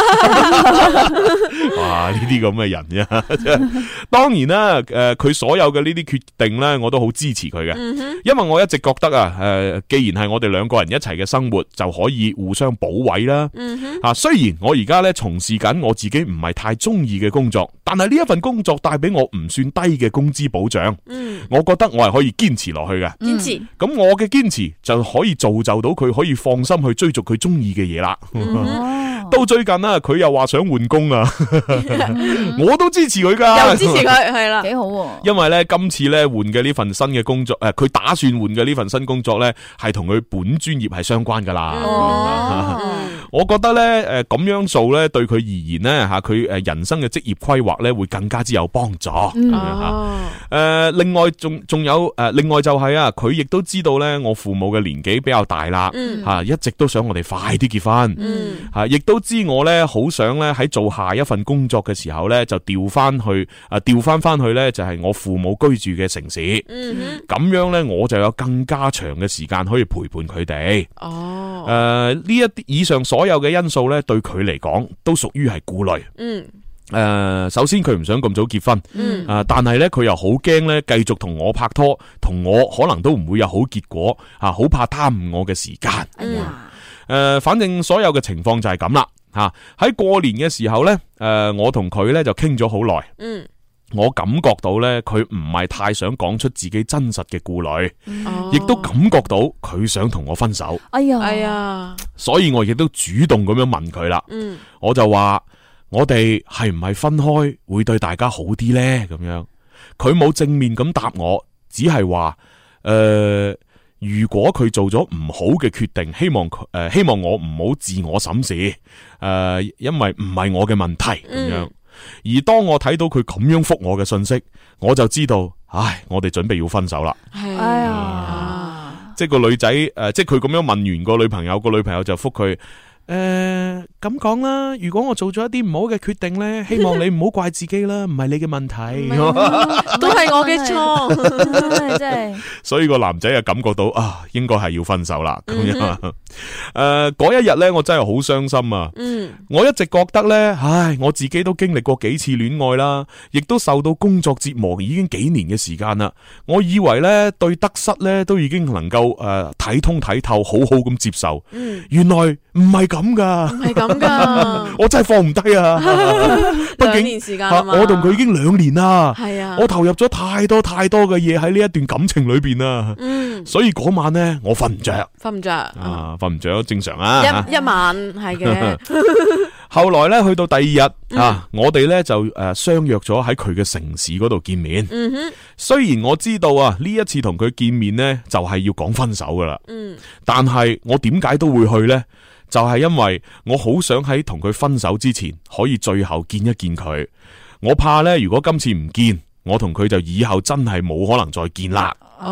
C: 哇！呢啲咁嘅人啫。當然啦，佢所有嘅呢啲決定咧，我都好支持佢嘅，因為我一直覺得啊，既然係我哋2個人一齊嘅生活，就可以互相補位啦。雖然我而家咧從事緊我自己唔係太中意嘅工作，但係呢一份工作帶俾我唔算低嘅工資保障。我覺得我係可以堅持落去嘅。
D: 堅持。
C: 咁我嘅堅持就可以造就到佢可以放心去追逐佢中意嘅嘢啦。到最近啊，佢又話想換工啊，我都支持佢噶，
D: 又支持佢，係啦，
G: 幾好喎。
C: 因為咧今次咧換嘅呢份新嘅工作，佢打算換嘅呢份新工作咧係同佢本專業係相關噶啦。我覺得咧咁樣做咧對佢而言咧吓，佢人生嘅職業規劃咧會更加之有幫助。另外仲有另外就係啊，佢亦都知道咧我父母嘅年紀比較大啦，吓一直都想我哋快啲結婚，吓亦都知我咧好想咧喺做下一份工作嘅時候咧就調翻去咧就係我父母居住嘅城市，咁樣咧我就有更加長嘅時間可以陪伴佢哋。呢一啲以上所有嘅因素咧對佢嚟講都屬於係顧慮。首先佢唔想咁早結婚，但係咧佢又好驚咧繼續同我拍拖，同我可能都唔會有好結果，好怕耽誤我嘅時間。反正所有嘅情況就係咁啦。喺過年嘅時候咧，我同佢咧就傾咗好耐。我感覺到咧佢唔係太想講出自己真實嘅顧慮，亦都感覺到佢想同我分手。
G: 哎呀，
C: 所以我亦都主動咁樣問佢啦。我就話我哋係唔係分開會對大家好啲咧？咁樣佢冇正面咁答我，只係話如果佢做咗唔好嘅決定，希望我唔好自我審視，因為唔係我嘅問題咁樣。而當我睇到佢咁樣覆我嘅信息，我就知道，我哋準備要分手啦。即係個女仔，即係佢咁樣問完個女朋友，個女朋友就覆佢。咁講啦，如果我做咗一啲唔好嘅決定咧，希望你唔好怪自己啦，唔係你嘅問題，
D: 都係我嘅錯，
G: 真係。
C: 所以個男仔就感覺到應該係要分手啦咁樣。嗰一日咧，我真係好傷心啊！我一直覺得咧，我自己都經歷過幾次戀愛啦，亦都受到工作折磨，已經幾年嘅時間啦。我以為咧對得失咧都已經能夠睇通睇透，好好咁接受。原來唔係咁噶，
D: 唔係咁噶，
C: 我真係放唔低啊！畢竟
D: 2年時間
C: 我同佢已經2年啦，
D: 係啊，
C: 我投入咗太多嘅嘢喺呢一段感情裏邊啦，所以嗰晚咧我瞓唔着，瞓唔着正常啊，
D: 一晚係嘅。
C: 後來咧去到第2日我哋咧就相約咗喺佢嘅城市嗰度見面。雖然我知道呢一次同佢見面咧就係要講分手噶啦，但係我點解都會去咧？就係因為我好想喺同佢分手之前可以最後見一見佢。我怕咧如果今次唔見，我同佢就以後真係冇可能再見啦。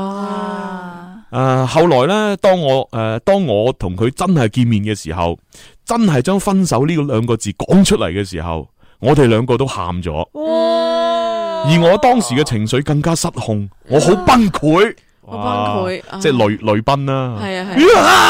C: 後來咧當我同佢真係見面嘅時候，真係將分手呢2個字講出嚟嘅時候，我哋2個都喊咗。而我當時嘅情緒更加失控，我好崩潰。
D: 好崩潰，
C: 即係淚奔啦。
D: 係啊，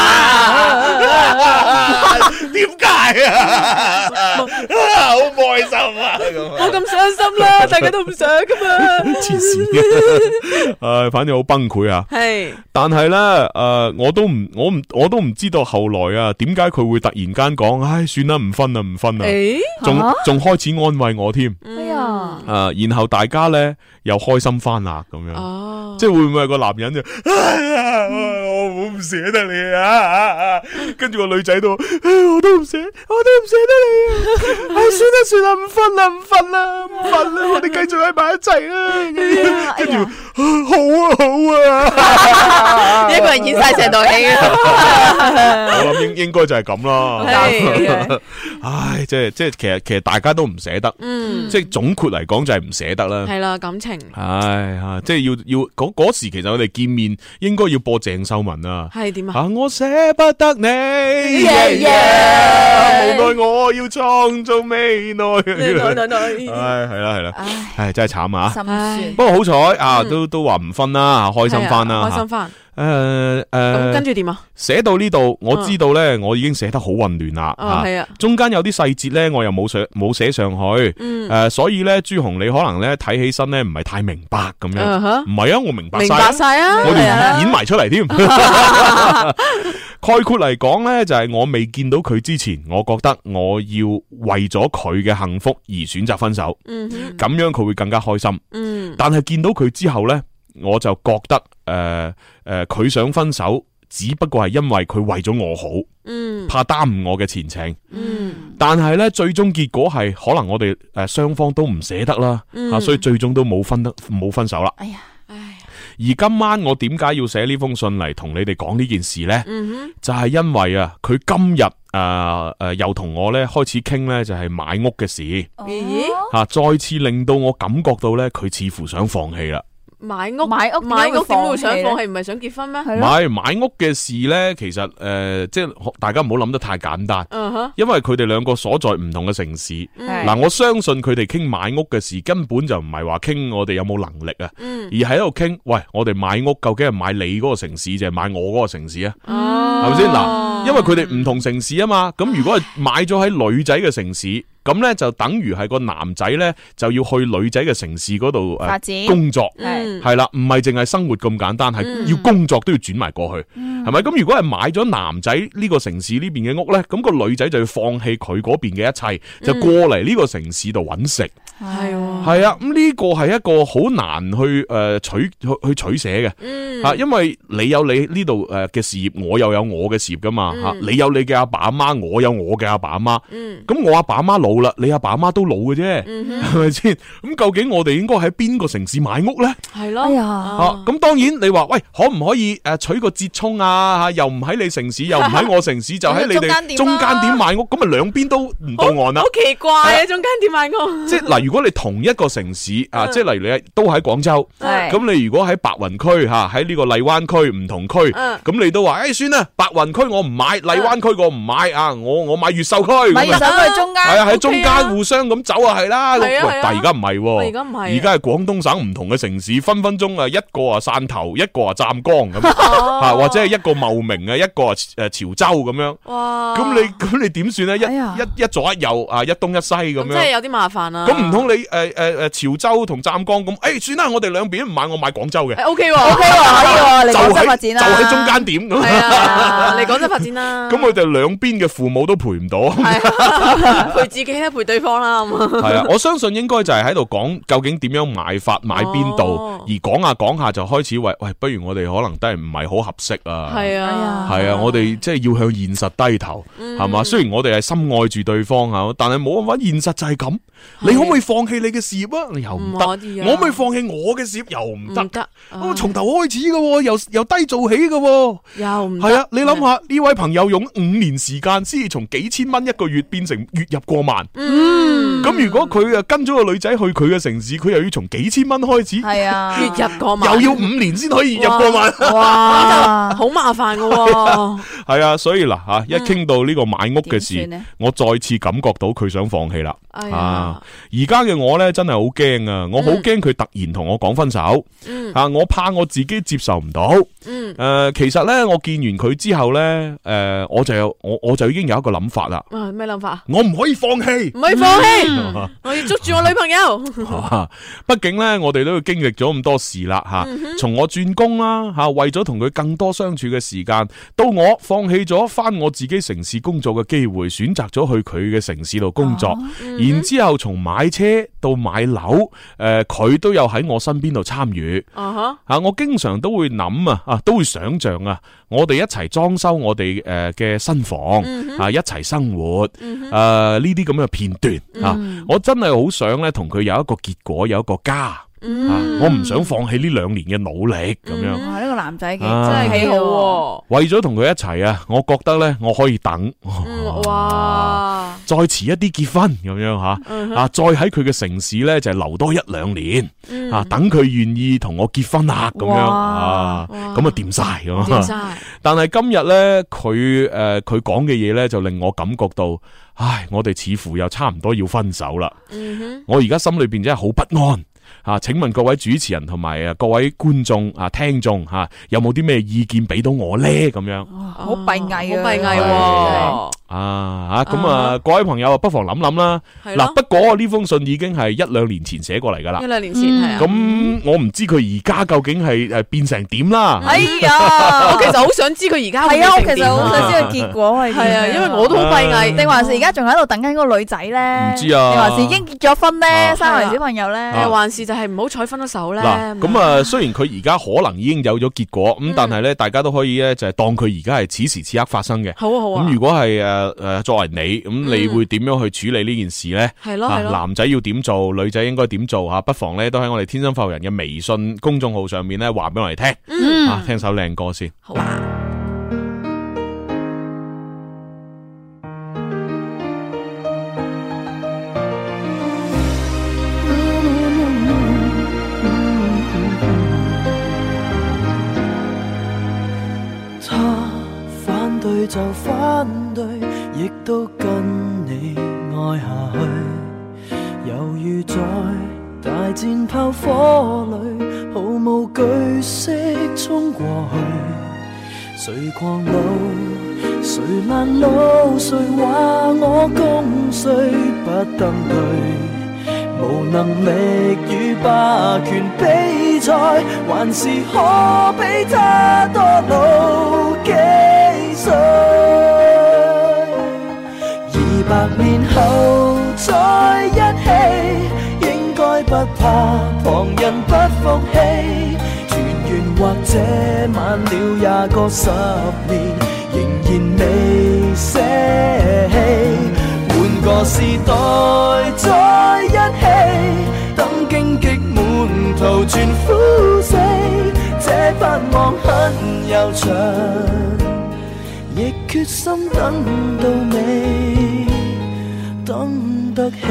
C: 點解啊？好唔開心啊！
D: 冇咁傷心啦，大家都唔想噶嘛。
C: 黐線嘅，反正好崩潰啊。係，但係咧，我都唔知道後來啊，點解佢會突然間講，算啦，唔分啦，唔分啦。仲開始安慰我添。
G: 哎呀，
C: 然後大家咧又開心翻啦，咁樣。即係會唔會係個男人就，我好唔捨得你啊！跟住個女仔都，我都唔捨得你啊！算啦，唔分啦，我哋繼續喺埋一齊啦！跟住啊，
D: 一個人演晒成套戲啊！
C: 我諗應該就係咁啦。
D: 係
C: 唉，即係其實大家都唔捨得，即係總括嚟講就係唔捨得啦。
D: 係啦，感情。
C: 唉即係要嗰時，其實我哋見面應該要播鄭秀文啊。
D: 係點啊？
C: 我捨不得你，無奈我要創造未來。唉，係啦，唉，真係慘啊！
G: 心酸。
C: 不過好彩啊，都話唔分啦，開心翻啦，
D: 開心翻。
C: 咁
D: 跟住點啊？
C: 寫到呢度，我知道咧，我已經寫得好混亂啦。
D: 係啊，
C: 中間有啲細節咧，我又冇寫上去。所以咧，朱紅你可能咧睇起身咧唔係太明白咁樣。唔係啊，我明白晒
D: 啊，
C: 我哋演埋出嚟添。概括嚟講咧，就係我未見到佢之前，我覺得我要為咗佢嘅幸福而選擇分手。咁樣佢會更加開心。但係見到佢之後咧，我就覺得佢想分手，只不過係因為佢為咗我好，怕耽誤我嘅前程。但係咧，最終結果係可能我哋雙方都唔捨得啦，所以最終都冇分手啦。
G: 哎呀，
C: 而今晚我點解要寫呢封信嚟同你哋講呢件事呢？就係因為啊，佢今日又同我咧開始傾咧，就係買屋嘅事。再次令到我感覺到咧，佢似乎想放棄啦。
D: 買屋點會想放棄？唔係想結婚咩？
C: 買屋嘅事咧，其實即係大家唔好諗得太簡單。因為佢哋兩個所在唔同嘅城市。嗱，我相信佢哋傾買屋嘅事根本就唔係話傾我哋有冇能力啊，而係喺度傾，喂，我哋買屋究竟係買你嗰個城市，定係買我嗰個城市啊？係咪先？嗱，因為佢哋唔同城市啊嘛，咁如果係買咗喺女仔嘅城市。咁咧就等於係個男仔咧就要去女仔嘅城市嗰度工作，係啦，唔係淨係生活咁簡單，係要工作都要轉埋過去，係咪？咁如果係買咗男仔呢個城市呢邊嘅屋咧，咁個女仔就要放棄佢嗰邊嘅一切，就過嚟呢個城市度揾食。係啊，咁呢個係一個好難去取捨嘅，因為你有你呢度嘅事業，我又有我嘅事業噶嘛，你有你嘅阿爸阿媽，我有我嘅阿爸阿媽，咁我阿爸阿媽老啦，你阿爸阿媽都老嘅啫，係咪先？咁究竟我哋應該喺邊個城市買屋咧？係咯，咁當然你話喂，可唔可以取個折衷啊？又唔喺你城市，又唔喺我城市，就喺你哋中間點買屋，咁咪兩邊都唔到岸啦。好
D: 奇怪啊，中間點買屋？
C: 即係嗱，如果你同一個城市啊，即係例如你都喺廣州，咁你如果喺白雲區吓，喺呢個荔灣區唔同區，咁你都話算啦，白雲區我唔買，荔灣區我唔買啊，我買越秀區，
G: 買越秀區中間，
C: 係啊，喺中間互相咁走啊，係啦。喂，但係而家唔係，
D: 而
C: 家係廣東省唔同嘅城市，分分鐘啊，一個啊汕頭，一個啊湛江咁，或者係一個茂名啊，一個啊潮州咁樣。哇！咁你點算咧？一左一右啊，一東一西咁樣，
D: 即係有啲麻煩啊。
C: 咁唔通你潮州同湛江咁？算啦，我哋兩邊唔買，我買廣州嘅。
D: O K 喎，
G: 可以喎，嚟廣州發展啦，
C: 就喺中間點咁。
D: 係啊，嚟廣州發展啦。
C: 咁佢哋兩邊嘅父母都陪唔到，
D: 陪自己咧，陪對方啦。
C: 係啊，我相信應該就係喺度講究竟點樣買法，買邊度，而講下講下就開始喂，不如我哋可能都係唔係好合適啊。係啊，我哋即係要向現實低頭，係嘛？雖然我哋係深愛住對方吓，但係冇辦法，現實就係咁。你可唔可以放棄你嘅事業啊？又唔得。我可唔可以放棄我嘅事業？又唔得。我從頭開始嘅，由低做起嘅，又唔係啊！你諗下呢位朋友用5年時間先至從幾千蚊一個月變成月入過萬。咁如果佢跟咗個女仔去佢嘅城市，佢又要從幾千蚊開始，係啊，月入過萬，又要5年先可以月入過萬。
D: 哇，好麻煩嘅。
C: 係啊，所以嗱吓，一傾到呢個買屋嘅事，我再次感覺到佢想放棄啦。而家嘅我咧真係好驚啊！我好驚佢突然同我講分手。我怕我自己接受唔到。其實咧，我見完佢之後咧，我就已經有一個諗法啦。
D: 咩諗法？
C: 我唔可以放棄，
D: 唔可以放棄，我要捉住我女朋友。
C: 畢竟咧，我哋都要經歷咗咁多事啦，吓，從我轉工啦，吓，為咗同佢更多相處嘅時間，到我放棄咗返我自己城市工作嘅機會，選擇咗去佢嘅城市度工作，然之後從買車到買樓，佢都有喺我身邊度參與。我經常都會諗啊，都會想象啊，我哋一齊裝修我哋嘅新房，一齊生活，呢啲咁嘅片段，我真係好想咧同佢有一個結果，有一個家。 我唔想放棄呢2年嘅努力咁樣。
G: 哇，呢個男仔
D: 真係幾好喎。
C: 為咗同佢一齊啊，我覺得咧我可以等。
D: 哇！
C: 再遲一啲結婚咁樣吓，再喺佢嘅城市咧就留多1-2年，等佢願意同我結婚啦咁樣咁啊掂晒咁。但係今日咧佢講嘅嘢咧就令我感覺到，我哋似乎又差唔多要分手啦。我而家心裏邊真係好不安。請問各位主持人同埋各位觀眾聽眾有冇啲咩意見俾到我咧？咁樣
G: 好閉翳，
D: 好閉翳
C: 咁各位朋友不妨諗諗啦。嗱，不過呢封信已經係1-2年前寫過嚟噶啦。
D: 1-2年前係啊。
C: 咁我唔知佢而家究竟係變成點啦。
G: 哎呀，
D: 我其實好想知佢而家
G: 係啊，我其實好想知個結果係點。
D: 係啊，因為我都好閉翳。
G: 定還是而家仲喺度等緊嗰個女仔咧？
C: 唔知啊。
G: 定還是已經結咗婚咧，生埋小朋友咧？
D: 還是就係唔好彩分咗手咧？
C: 嗱，咁雖然佢而家可能已經有咗結果，咁但係咧，大家都可以咧就係當佢而家係此時此刻發生嘅。
D: 好啊好啊。
C: 咁如果係作為你，咁你會點樣去處理呢件事咧？
D: 係咯係咯。
C: 男仔要點做，女仔應該點做吓？不妨咧都喺我哋天生發育人嘅微信公眾號上面咧話俾我哋聽。聽首靚歌先。
D: 好啊。
B: 就反對，亦都跟你愛下去，猶如在大戰炮火裏，毫無懼色衝過去。誰狂怒，誰攔路，誰話我共誰不登對，無能力與霸權比賽，還是可比他多老幾歲。200年後再一起，應該不怕旁人不服氣。團圓或者晚了也過10年，仍然未捨棄。換個時代再一起，等荊棘滿途全枯死。這盼望很悠長，亦決心等到尾，等得起。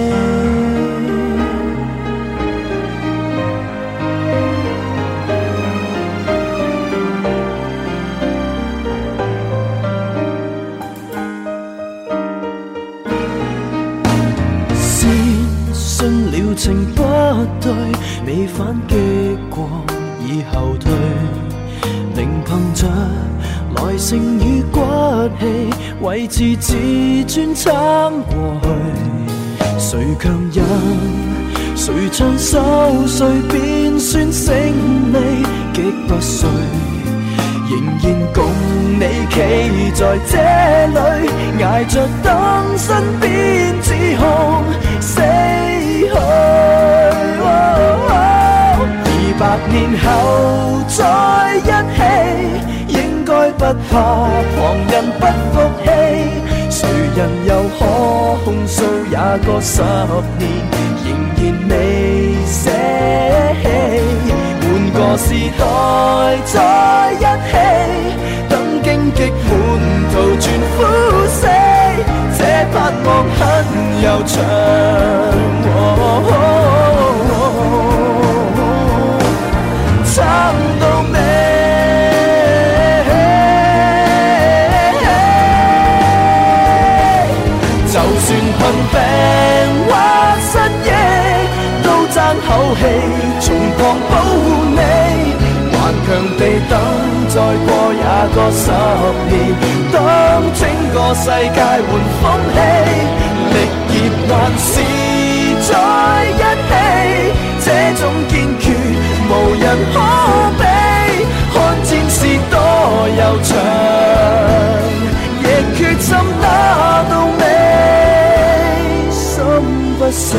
B: 情不對，未反擊過已後退，仍憑着耐性與骨氣，維持自尊撐過去。誰強忍，誰唱首，誰便算勝利，極不衰，仍然共你企在這裏，捱着等身邊指控死去。200年後再一起，應該不怕旁人不服氣。誰人又可控訴也過10年，仍然未捨棄。換個時代再一起，等荊棘滿途全枯死。這盼望很悠長。撐到尾，就算困病或失憶，都爭口氣，從旁保護你。頑強地等，再過也過10年，當整個世界換風氣，力竭還是在一起，這種堅決無人可比，看戰事多悠長，亦決心打到尾，心不死。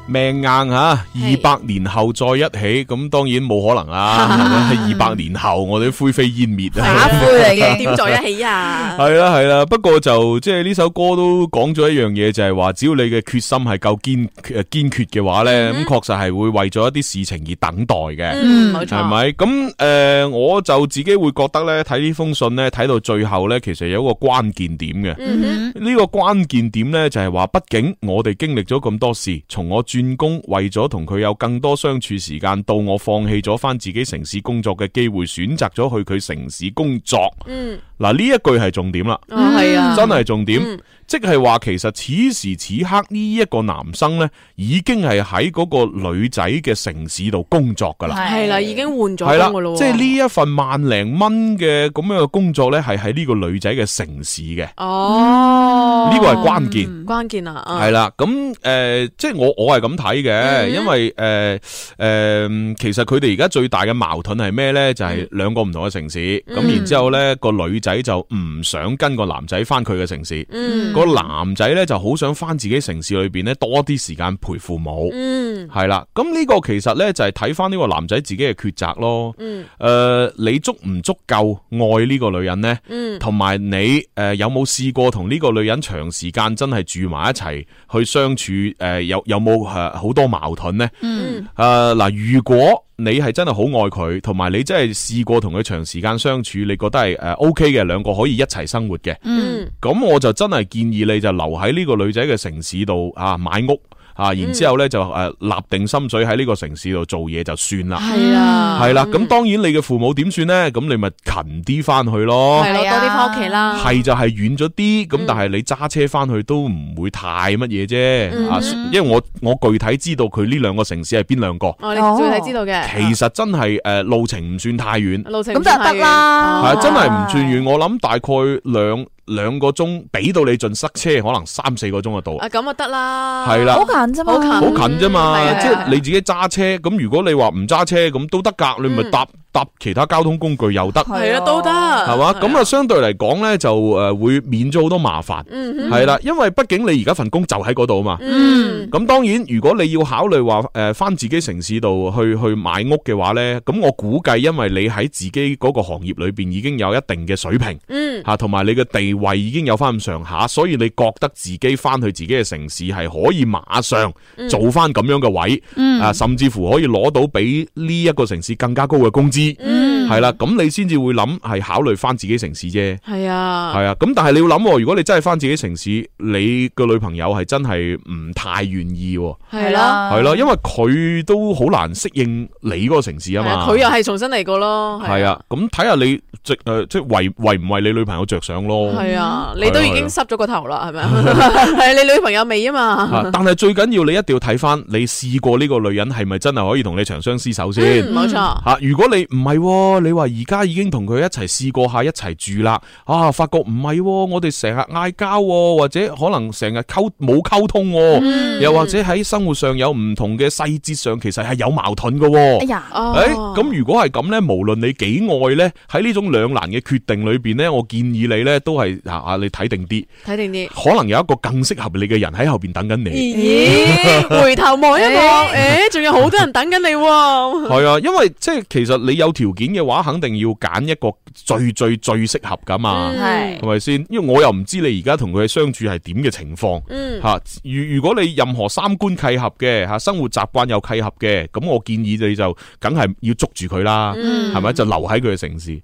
C: 命硬吓，200年後再一起，咁當然冇可能啦。200年後我哋都灰飛煙滅啊，
D: 打灰嚟嘅，點在一起啊？
C: 係啦，不過就即係呢首歌都講咗一樣嘢，就係話只要你嘅決心係夠堅決嘅話咧，咁確實係會為咗一啲事情而等待嘅。
D: 冇錯，
C: 係咪？咁我就自己會覺得咧，睇呢封信咧，睇到最後咧，其實有一個關鍵點嘅。呢個關鍵點咧就係話，畢竟我哋經歷咗咁多事，從我轉工為咗同佢有更多相處時間，到我放棄咗翻自己城市工作嘅機會，選擇咗去佢城市工作。嗱，呢一句係重點啦，
D: 係啊，
C: 真係重點。即係話，其實此時此刻呢一個男生咧，已經係喺嗰個女仔嘅城市度工作噶啦，
D: 係啦，已經換咗工噶咯。
C: 即係呢一份萬零蚊嘅咁樣嘅工作咧，係喺呢個女仔嘅城市嘅。呢個係關鍵，
D: 關鍵啊！
C: 係啦，咁即係我係咁睇嘅，因為其實佢哋而家最大嘅矛盾係咩咧？就係兩個唔同嘅城市，咁然之後咧個女仔就唔想跟個男仔翻佢嘅城市。個男仔咧就好想翻自己城市裏邊咧多啲時間陪父母，係啦。咁呢個其實咧就係睇翻呢個男仔自己嘅抉擇咯。你足唔足夠愛呢個女人呢？同埋你有冇試過同呢個女人長時間真係住埋一齊去相處？有冇好多矛盾呢？嗱，如果你係真係好愛佢，同埋你真係試過同佢長時間相處，你覺得係OK 嘅，兩個可以一齊生活嘅，咁我就真係建議你就留喺呢個女仔嘅城市度買屋。然之後咧就立定心水喺呢個城市度做嘢就算啦。係啦，咁當然你嘅父母點算咧？咁你咪勤啲翻去咯。
D: 係咯，多啲翻屋企啦。係
C: 就係遠咗啲，咁但係你揸車翻去都唔會太乜嘢啫。因為我具體知道佢呢兩個城市係邊兩個。
D: 你具體知道嘅。
C: 其實真係路程唔算太遠。
D: 路程
G: 咁就得啦。
C: 係真係唔算遠，我諗大概兩個鐘，俾到你盡塞車，可能3-4個鐘就到。
D: 咁就得啦。
C: 係啦，
G: 好近啫嘛，
C: 好近啫嘛。即係你自己揸車，咁如果你話唔揸車，咁都得噶，你咪搭其他交通工具又得。
D: 係啊，都得。
C: 係嘛？咁啊，相對嚟講咧，就會免咗好多麻煩。係啦，因為畢竟你而家份工就喺嗰度啊嘛。咁當然，如果你要考慮話翻自己城市度去買屋嘅話咧，咁我估計，因為你喺自己嗰個行業裏邊已經有一定嘅水平，同埋你嘅地位已經有翻咁上下，所以你覺得自己翻去自己嘅城市係可以馬上做翻咁樣嘅位，甚至乎可以攞到比呢一個城市更加高嘅工資。係啦，咁你先至會諗係考慮翻自己城市啫。係啊，咁但係你要諗，如果你真係翻自己城市，你個女朋友係真係唔太願意。
D: 係啦，
C: 因為佢都好難適應你嗰個城市啊嘛。
D: 佢又係重新嚟過咯。
C: 係啊，咁睇下你即係為唔為你女朋友着想咯。
D: 係啊，你都已經濕咗個頭啦，係咪啊？係你女朋友未啊嘛？
C: 但係最緊要你一定要睇翻你試過呢個女人係咪真係可以同你長相廝守先。
D: 冇錯。
C: 如果你唔係，你話而家已經同佢一齊試過下一齊住啦，發覺唔係，我哋成日嗌交，或者可能成日冇溝通，又或者喺生活上有唔同嘅細節上，其實係有矛盾嘅。哎呀，咁如果係咁咧，無論你幾愛咧，喺呢種兩難嘅決定裏邊咧，我建議你咧都係你睇定啲，可能有一個更適合你嘅人喺後邊等緊你。
D: 咦？回頭望一望，仲有好多人等緊你。
C: 係啊，因為即係其實你有條件嘅話，肯定要揀一個最適合噶嘛，係咪先？因為我又唔知你而家同佢嘅相處係點嘅情況，如果你任何三觀契合嘅，生活習慣又契合嘅，咁我建議你就梗係要捉住佢啦，係咪？就留喺佢嘅城市。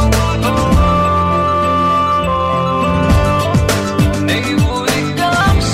I: 你會甘心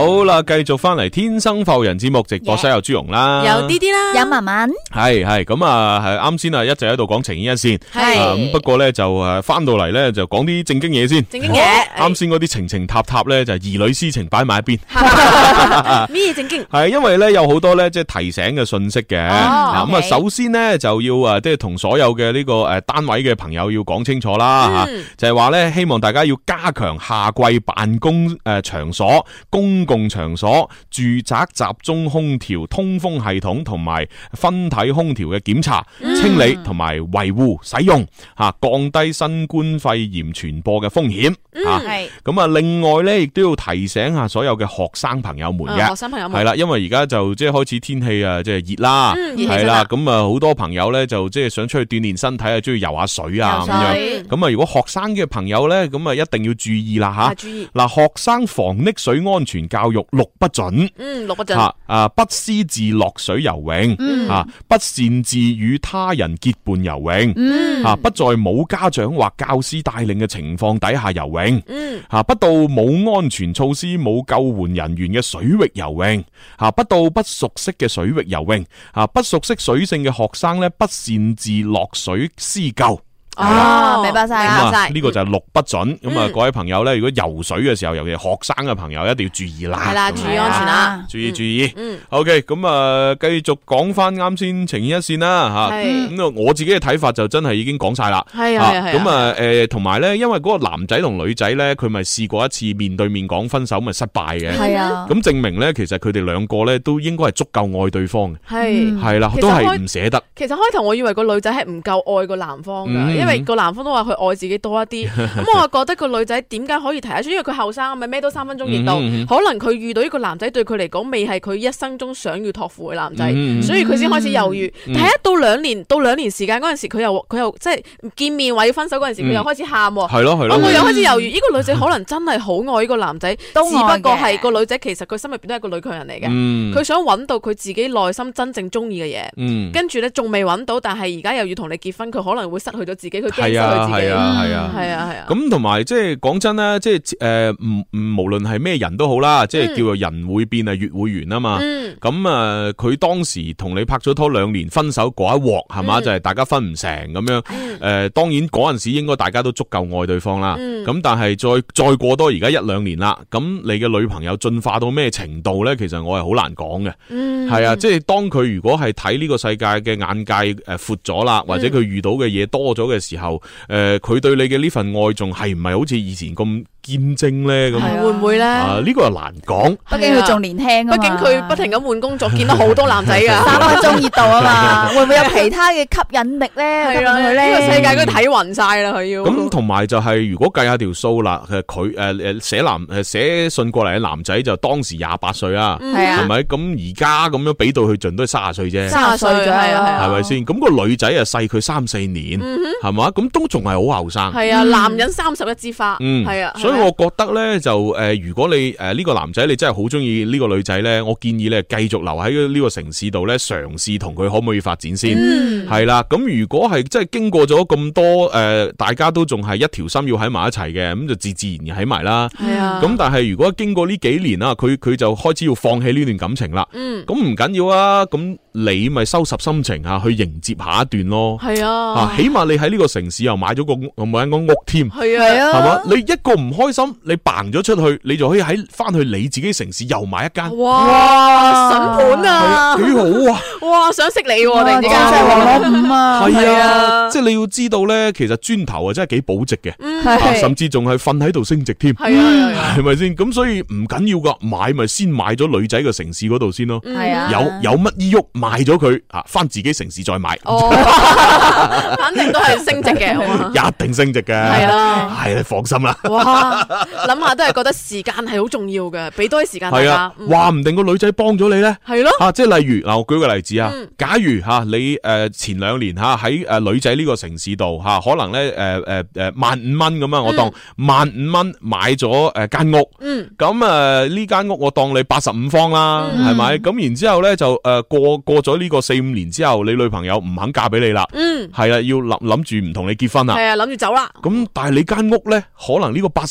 C: 好啦，繼續翻嚟天生浮人節目直播室有朱容啦，
D: 有啲啲啦，
G: 有文文，
C: 係咁啊，係啱先啊，一直喺度講情牽一線，
D: 係
C: 咁不過咧就翻到嚟咧就講啲正經嘢先，
D: 正經嘢，
C: 啱先嗰啲情情塔塔咧就兒女私情擺埋一邊，
D: 咩正經？
C: 係因為咧有好多咧即係提醒嘅信息嘅，咁啊首先咧就要即係同所有嘅呢個誒單位嘅朋友要講清楚啦，就係話咧希望大家要加強夏季辦公場所、公共場所、住宅集中空調通風系統同埋分體空調嘅檢查、清理同埋維護使用，降低新冠肺炎傳播嘅風險。咁啊，另外咧亦都要提醒下所有嘅學生朋友們嘅，
D: 學生朋友們
C: 係啦，因為而家就即係開始天氣啊，即係熱啦，係啦，咁啊好多朋友咧就即係想出去鍛煉身體啊，中意游下水啊咁樣。咁啊，如果學生嘅朋友咧，咁啊一定要注意啦吓。
D: 注意
C: 嗱，學生防溺水安全教育6不准。
D: 6不准。
C: 不私自落水游泳，不擅自與他人結伴游泳，不在冇家長或教師帶領嘅情況底下游泳，不到冇安全措施、冇救援人員嘅水域游泳，不到不熟悉嘅水域游泳，不熟悉水性嘅學生咧，不擅自落水施救。
G: 明白晒，
C: 呢個就係6不准。咁啊，各位朋友咧，如果游水嘅時候，尤其係學生嘅朋友，一定要注意啦。
D: 係啦，注意安全啦，
C: 注意。OK， 咁啊，繼續講翻啱先情牽一線啦吓。咁啊，我自己嘅睇法就真係已經講晒啦。
D: 係啊。
C: 咁啊，同埋咧，因為嗰個男仔同女仔咧，佢咪試過一次面對面講分手，咪失敗嘅。
G: 係啊。
C: 咁證明咧，其實佢哋兩個咧都應該係足夠愛對方嘅。係啦，都係唔捨得。
D: 其實開頭我以為個女仔係唔夠愛個男方㗎，因為個男方都話佢愛自己多一啲，咁我覺得個女仔點解可以提得出？因為佢後生，咪咩都3分鐘熱度，可能佢遇到呢個男仔對佢嚟講未係佢一生中想要託付嘅男仔，所以佢先開始猶豫。睇一到2年時間嗰陣時，佢又即係見面話要分手嗰陣時，佢又開始喊。
C: 係咯，
D: 我又開始猶豫，呢個女仔可能真係好愛呢個男仔，只不過係個女仔其實佢心入邊都係個女強人嚟嘅，佢想揾到佢自己內心真正中意嘅嘢，跟住咧仲未揾到，但係而家又要同你結婚，佢可能會失去咗自己，佢驚失去自己。係啊。咁同埋即係講真啦，即係無論係咩人都好啦，即係叫做人會變啊，月會圓啊嘛。咁啊，佢當時同你拍咗拖2年，分手嗰一鑊係嘛，就係大家分唔成咁樣。當然嗰陣時應該大家都足夠愛對方啦。咁但係再過多而家1-2年啦，咁你嘅女朋友進化到咩程度咧？其實我係好難講嘅。係啊，即係當佢如果係睇呢個世界嘅眼界闊咗啦，或者佢遇到嘅嘢多咗嘅時候，佢對你嘅呢份愛仲係唔係好似以前咁堅貞咧？咁會唔會咧？
C: 呢個係難講。
G: 畢竟佢仲年輕啊嘛。
D: 畢竟佢不停咁換工作，見到好多男仔噶
G: ，3分鐘熱度啊嘛。會唔會有其他嘅吸引力咧？
D: 係啦，呢個世界佢睇暈晒啦，佢要。
C: 咁同埋就係如果計下條數啦，佢寫信過嚟嘅男仔就當時28歲啊，係咪？咁而家咁樣俾到佢盡都係30歲啫
D: ，30歲咗係
C: 咪先？咁個女仔啊細佢3-4年，係嘛？咁都仲係好後生。
D: 係啊，男人31枝花，係啊。
C: 所以我覺得咧就如果你呢個男仔你真係好中意呢個女仔咧，我建議你繼續留喺呢個城市度咧，嘗試同佢可唔可以發展先。係啦，咁如果係真係經過咗咁多大家都仲係一條心要喺埋一齊嘅，咁就自然喺埋啦。
D: 係啊。
C: 咁但係如果經過呢幾年啦，佢就開始要放棄呢段感情啦。咁唔緊要啊，咁你咪收拾心情去迎接下一段咯。
D: 係啊。
C: 起碼你喺呢個城市又買咗間屋添。
D: 係啊。
C: 係嘛？你一個唔開心，你掟咗出去，你就可以翻去你自己城市又買一間。
D: 哇！筍盤啊，
C: 幾好啊！
D: 哇，想識你喎，突然之間
G: 真係王攞5啊！
C: 係啊，即係你要知道咧，其實磚頭啊真係幾保值嘅，甚至仲係瞓喺度升值添。
D: 係啊，
C: 係咪先？咁所以唔緊要噶，買咪先買咗女仔嘅城市嗰度先咯。
G: 係啊，
C: 有乜依喐賣咗佢翻自己城市再買。
D: 反正都係升值嘅，
C: 一定升值嘅。係啊，係你放心啦。
D: 哇，諗下都係覺得時間係好重要嘅，俾多啲時間大家。
C: 話唔定個女仔幫咗你咧。係咯。即係例如嗱，我舉個例子啊，假如你前2年喺女仔呢個城市度可能咧15,000蚊咁啊，我當15,000蚊買咗間屋。咁呢間屋我當你85方啦，係咪？咁然之後咧就過咗呢個4-5年之後，你女朋友唔肯嫁俾你啦。係啊，要諗住唔同你結婚啦。
D: 係啊，諗住走啦。
C: 咁但係你間屋咧，可能呢個85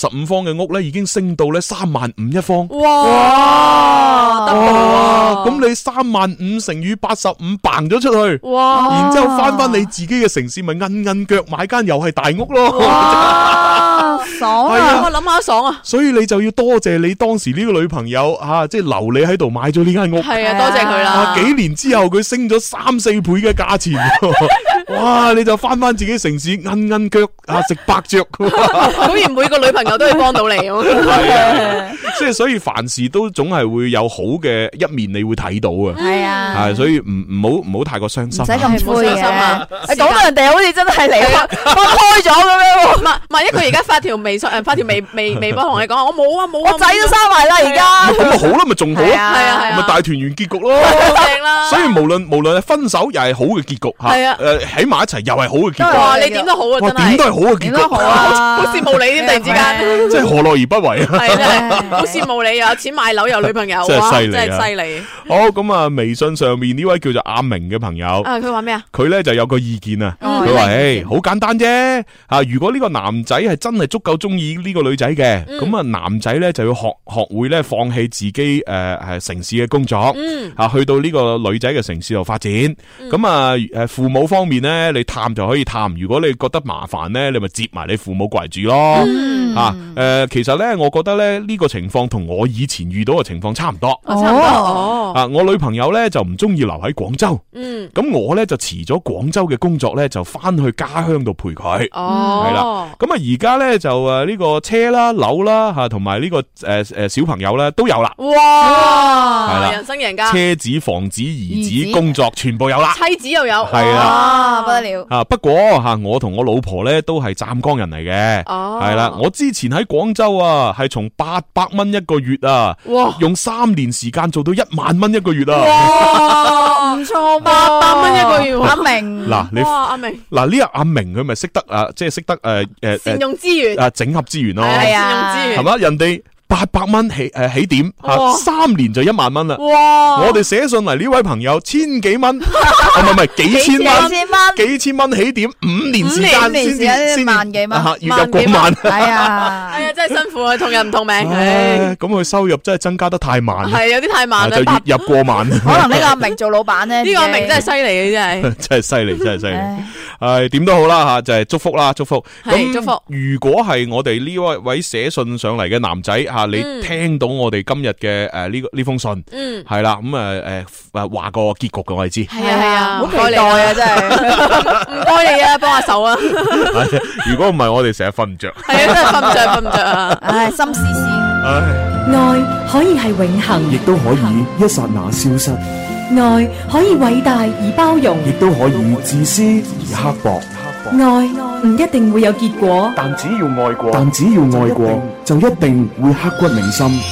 C: 85方嘅屋咧，已經升到咧35000一方。
D: 哇！
C: 咁你35000乘以85掟咗出去，
D: 哇！
C: 然之後翻你自己嘅城市，咪摁腳買間又係大屋咯。
G: 哇！爽啊！
D: 我諗下爽啊！
C: 所以你就要多謝你當時呢個女朋友即係留你喺度買咗呢間屋。
D: 係啊，多謝佢啦。
C: 幾年之後佢升咗3-4倍嘅價錢，哇！你就翻自己城市摁腳食白雀。
D: 果然每個女朋友都會幫到你。
C: 係啊，即係所以凡事都總係會有好嘅一面，你會睇到啊。
G: 係啊，
C: 係所以唔好太過傷心，
G: 唔使咁灰
D: 啊。
G: 你講到人哋好似真係離開咗咁樣。
D: 萬一佢而家發條微信發條微博同你講，我冇啊，
G: 我仔都生埋啦而家。
C: 咁咪好咯，咪仲好咯，
D: 係啊，
C: 咪大團圓結局咯。
D: 正啦。
C: 所以無論係分手又係好嘅結局吓，
D: 係啊，
C: 喺埋一齊又係好嘅結局。
D: 哇，你點都好啊，真係。
C: 點都係好嘅結局。
D: 好羨慕你添，突然之間。
C: 即係何樂而不為啊！
D: 係啊，好羨慕你，又有錢買樓，有女朋友，
C: 真係犀利，
D: 真係犀利。
C: 好咁啊！微信上面呢位叫做阿明嘅朋友，
D: 佢話咩啊？
C: 佢咧就有個意見啊。佢話：好簡單啫。如果呢個男仔係真係足夠中意呢個女仔嘅，咁啊男仔咧就要學會咧放棄自己城市嘅工作，去到呢個女仔嘅城市度發展。咁啊父母方面咧，你探就可以探。如果你覺得麻煩咧，你咪接埋你父母過嚟住咯。其實咧，我覺得咧呢個情況同我以前遇到嘅情況差唔多。我女朋友咧就唔中意留喺廣州。咁我咧就辭咗廣州嘅工作咧，就翻去家鄉度陪佢。係啦。咁啊而家咧就呢個車啦、樓啦同埋呢個小朋友咧都有啦。
D: 哇！係啦，人生贏家。車
C: 子、房子、兒子、工作全部有啦。
D: 妻子又有。
C: 係啦。
G: 不得了。
C: 不過我同我老婆咧都係湛江人嚟嘅。係啦，我之前喺廣州係從800蚊一個月用3年時間做到10000蚊一個月
G: 哇，唔錯
D: ，800蚊一個月。
G: 阿明，
D: 阿明，
C: 呢個阿明佢咪識得即係識得
D: 善用資源，
C: 整合資源咯，
D: 係啊，善用資源，
C: 係嘛？人哋800蚊起點3年就10000蚊啦。
D: 哇！
C: 我哋寫信嚟呢位朋友千幾蚊，唔係幾千蚊起點，5年時間先
G: 萬幾蚊，
C: 月入過萬。
G: 係啊，
D: 真係辛苦啊，同人唔同命。
C: 咁佢收入真係增加得太慢，
D: 係有啲太慢啦，
C: 就月入過萬。
G: 可能呢個阿明做老闆咧，
D: 呢個阿明真係犀利嘅，
C: 真係犀利，真係犀利。點都好啦就係祝福啦，祝福。
D: 咁祝福。
C: 如果係我哋呢位寫信上嚟嘅男仔你聽到我哋今日嘅呢封信，係啦，咁話個結局嘅我哋知。
D: 係啊，
G: 好期待啊，真係
D: 唔該你啊，幫下手啊。
C: 如果唔係，我哋成日瞓唔着。
D: 係啊，真係瞓唔着啊。
G: 唉，心思思。
F: 愛可以係永恆，
E: 亦都可以一剎那消失。
F: 愛可以偉大而包容，
E: 亦都可以自私而刻薄。
F: 愛唔一定會有結果，
E: 但只要愛過，就一定會刻骨銘心。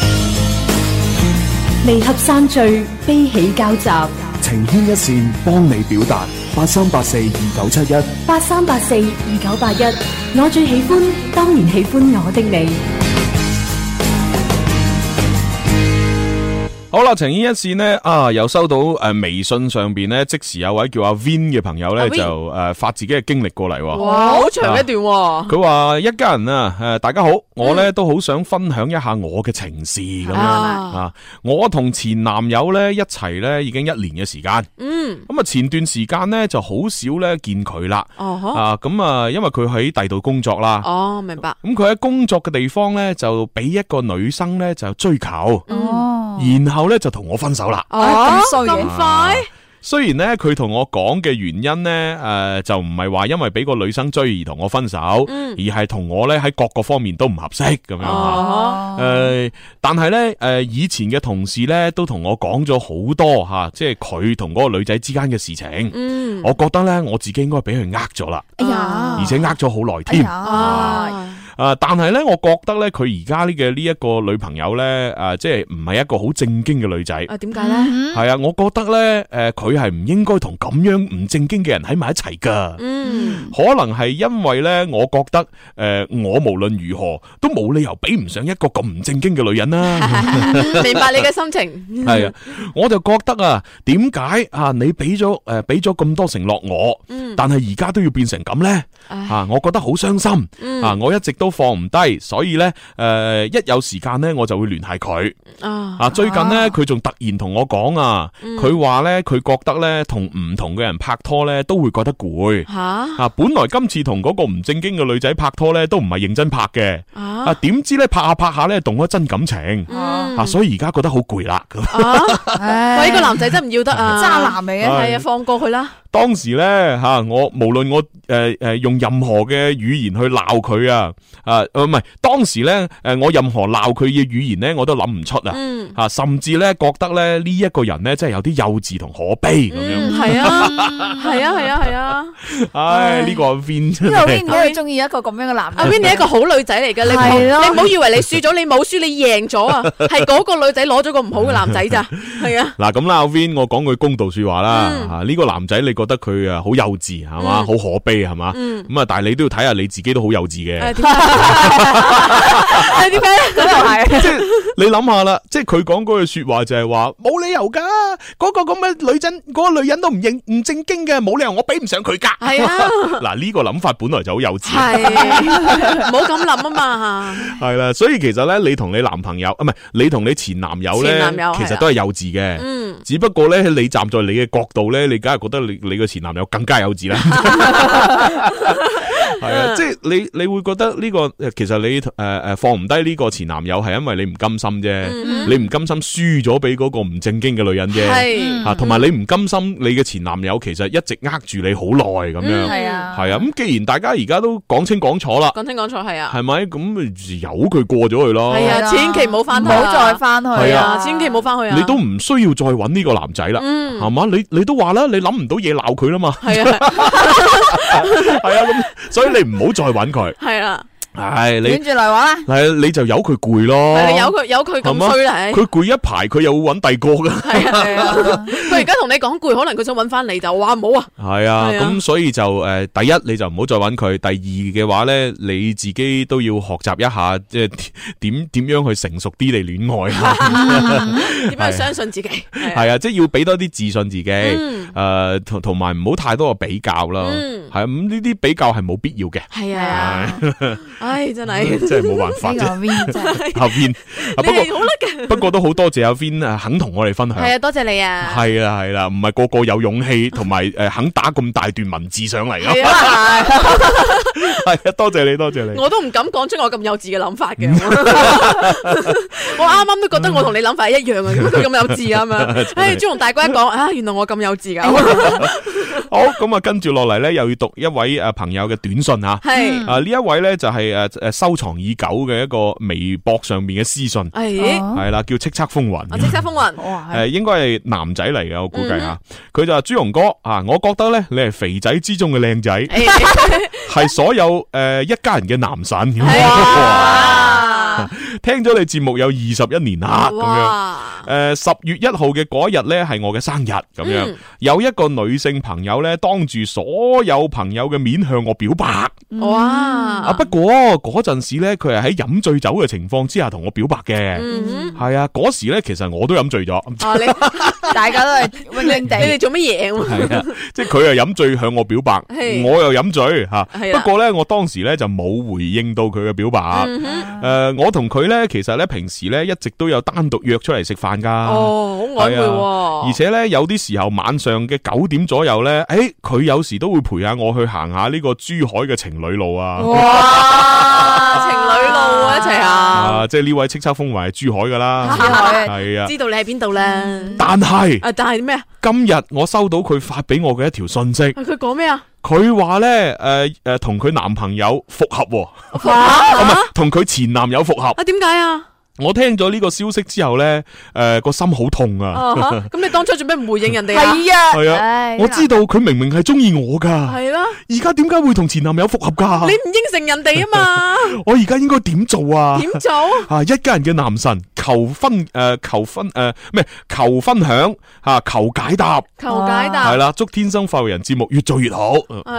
F: 離合散聚，悲喜交集，
E: 情牽一線，幫你表達。83842971
F: 83842981，我最喜歡，當然喜歡我的你。
C: 好啦，情牽一線呢，又收到微信上邊呢，即時有位叫阿 Vin 嘅朋友呢，就發自己嘅經歷過嚟。
D: 哇，好長一段。
C: 佢話一家人啊，大家好，我呢都好想分享一下我嘅情事咁樣。我同前男友呢一齊呢已經1年嘅時間。咁啊前段時間呢就好少呢見佢啦。咁啊因為佢喺第度工作啦。
D: 哦，明白。
C: 咁佢喺工作嘅地方呢，就俾一個女生呢就追求。然後咧就同我分手啦。
D: 咁快？
C: 雖然咧佢同我講嘅原因咧，就唔係話因為俾個女生追而同我分手，而係同我咧喺各個方面都唔合適咁樣。但係咧，以前嘅同事咧都同我講咗好多吓，即係佢同嗰個女仔之間嘅事情。我覺得咧我自己應該俾佢呃咗啦。
G: 哎呀，
C: 而且呃咗好耐添。但係咧，我覺得咧，佢而家呢一個女朋友咧，即係唔係一個好正經嘅女仔。
D: 點解咧？
C: 係啊，我覺得咧，佢係唔應該同咁樣唔正經嘅人喺埋一齊噶。可能係因為咧，我覺得我無論如何都冇理由比唔上一個咁唔正經嘅女人啦。
D: 明白你嘅心情。係
C: 啊，我就覺得啊，點解你俾咗咁多承諾我，但係而家都要變成咁咧？我覺得好傷心。我一直都都放唔低，所以咧一有時間咧我就會聯繫佢。最近咧佢仲突然同我講啊，佢話咧佢覺得咧同唔同嘅人拍拖咧都會覺得攰。本來今次同嗰個唔正經嘅女仔拍拖咧都唔係認真拍嘅，點知咧拍下拍下咧動咗真感情，所以而家覺得好攰啦。
D: 喂，呢個男仔真唔要得啊，渣男嚟嘅，係啊，放過佢啦。
C: 當時咧我無論我用任何嘅語言去鬧佢啊，唔係當時咧我任何鬧佢嘅語言咧我都諗唔出啊，甚至咧覺得咧呢一個人咧真係有啲幼稚同可悲咁樣。係
D: 啊，
C: 唉，呢個阿 Vin
G: 呢個 Vin 都係中意一個咁樣嘅男人。
D: 阿 Vin 你係一個好女仔嚟嘅，你唔好以為你輸咗，你冇輸，你贏咗啊！係嗰個女仔攞咗個唔好嘅男仔咋，係啊。
C: 嗱咁啦，阿 Vin 我講句公道說話啦，呢個男仔你覺得佢好幼稚係嘛，好可悲係嘛，咁啊但係你都要睇下你自己都好幼稚嘅。點解？咁又係，即係你諗下啦，即係佢講嗰句說話就係話冇理由噶，嗰個咁嘅女人都唔正經嘅，冇理由我比唔上佢噶。係啊，嗱呢個諗法本來就好幼稚，
D: 係唔好咁諗啊嘛。
C: 係啦，所以其實咧，你同你男朋友唔係你同你前男友咧，其實都係幼稚嘅。只不過咧，你站在你嘅角度咧，你梗係覺得你個前男友更加幼稚啦。係啊，即係你會覺得呢個其實你放唔低呢個前男友係因為你唔甘心啫，你唔甘心輸咗俾嗰個唔正經嘅女人啫，同埋你唔甘心你嘅前男友其實一直呃住你好耐咁樣，係啊，咁既然大家而家都講清講楚啦，
D: 講清講楚係啊，
C: 係咪咁由佢過咗去咯？係
D: 啊，千祈唔好翻去，
G: 唔好再翻去，
C: 係啊，
D: 千祈唔好翻去啊！
C: 你都唔需要再揾呢個男仔啦，係嘛？你都話啦，你諗唔到嘢鬧佢啦嘛，係啊，係啊，咁所以你唔好再揾佢，係啦。係你
G: 捲住嚟玩啦，
C: 係你就由佢攰咯，
D: 你由佢咁衰啦，
C: 佢攰一排，佢又會揾第二個噶。係
D: 啊，佢而家同你講攰，可能佢想揾翻你就話唔好啊。
C: 係啊，咁所以就第一你就唔好再揾佢，第二嘅話咧，你自己都要學習一下，即係點樣去成熟啲嚟戀愛啊？
D: 點樣去相信自己？
C: 係啊，即係要俾多啲自信自己，同埋唔好太多嘅比較啦。係咁呢啲比較係冇必要嘅。係啊。
D: 唉，真係
C: 真係冇辦法啫。阿 Vin，不過都好多謝阿 Vin 肯同我哋分享。
D: 係啊，多謝你啊。
C: 係啦，唔係個個有勇氣同埋肯打咁大段文字上嚟咯。係啊，多謝你。
D: 我都唔敢講出我咁幼稚嘅諗法嘅。我啱啱都覺得我同你諗法係一樣啊，佢咁幼稚啊嘛。唉，朱紅大哥一講，原來我咁幼稚噶。
C: 好，咁啊，跟住落嚟咧，又要讀一位朋友嘅短信吓。係呢一位咧就係收藏已久嘅一個微博上面嘅私信，係啦，叫叱咤風雲。
D: 叱咤風雲，
C: 應該係男仔嚟嘅，我估計吓。佢就話朱紅哥啊，我覺得咧你係肥仔之中嘅靚仔，係所有一家人嘅男神。聽咗你節目有21年啦，咁樣10月1號嘅嗰一日咧係我嘅生日，咁樣有一個女性朋友咧當住所有朋友嘅面向我表白，哇！不過嗰陣時咧佢係喺飲醉酒嘅情況之下同我表白嘅，係啊，嗰時咧其實我都飲醉咗，
G: 大家都係暈暈地，
D: 你哋做乜嘢？
C: 係啊，即係佢又飲醉向我表白，我又飲醉吓，不過咧我當時咧就冇回應到佢嘅表白，我同佢咧，其實咧平時咧一直都有單獨約出嚟食飯噶。哦，好曖昧喎。而且咧有啲時候晚上嘅9點左右咧，佢有時都會陪下我去行下呢個珠海嘅情侶路啊。
D: 哇，情侶路啊，一齊啊！
C: 即係呢位叱咤風雲係珠海噶啦。珠海係啊，知道你喺邊度咧。但係咩啊？今日我收到佢發俾我嘅一條信息。
D: 佢講咩啊？
C: 佢話咧，同佢男朋友復合，唔係同佢前男友復合。啊，
D: 點解啊？我
C: 聽咗呢個消息之後咧，個心好痛啊！
D: 咁你當初做咩唔回應人哋啊？
C: 係啊，我知道佢明明係中意我噶，係啦，而家點解會同前男友復合噶？
D: 你唔應承人哋啊嘛！
C: 我而家應該點做啊？
D: 點做？
C: 一家人嘅男神求分享吓，求解答，係啦，祝天生快活人節目越做越好。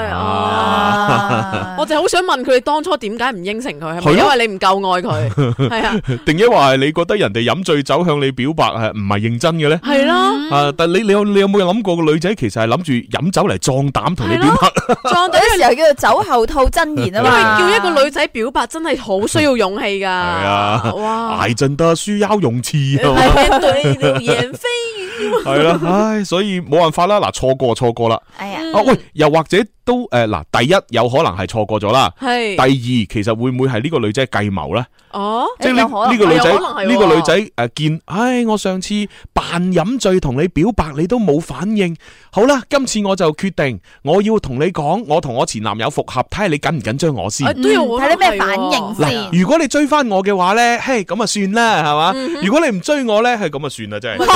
D: 我就好想問佢哋當初點解唔應承佢，係咪因為你唔夠愛佢？係啊，
C: 定抑或係你覺得人哋飲醉酒向你表白係唔係認真嘅咧？
D: 係咯，
C: 但你有冇諗過個女仔其實係諗住飲酒嚟壯膽同你表白？
G: 壯膽嘅時候叫做酒後吐真言啊嘛。
D: 叫一個女仔表白真係好需要勇氣噶。係
C: 啊，
D: 哇！
C: 挨陣得需要勇氣。
D: 對流言蜚語。
C: 係啦，唉，所以冇辦法啦。嗱，錯過啦。
G: 哎呀，
C: 喂，又或者都嗱，第一有可能係錯過咗啦。係。第二，其實會唔會係呢個女仔計謀咧？
D: 哦，
C: 即係呢個女仔，呢個女仔見，唉，我上次扮飲醉同你表白，你都冇反應。好啦，今次我就決定，我要同你講，我同我前男友復合，睇下你緊唔緊張我先。
G: 都要睇你咩反應先。
C: 如果你追翻我嘅話咧，嘿，咁啊算啦，係嘛？如果你唔追我咧，係咁啊算啦，真係。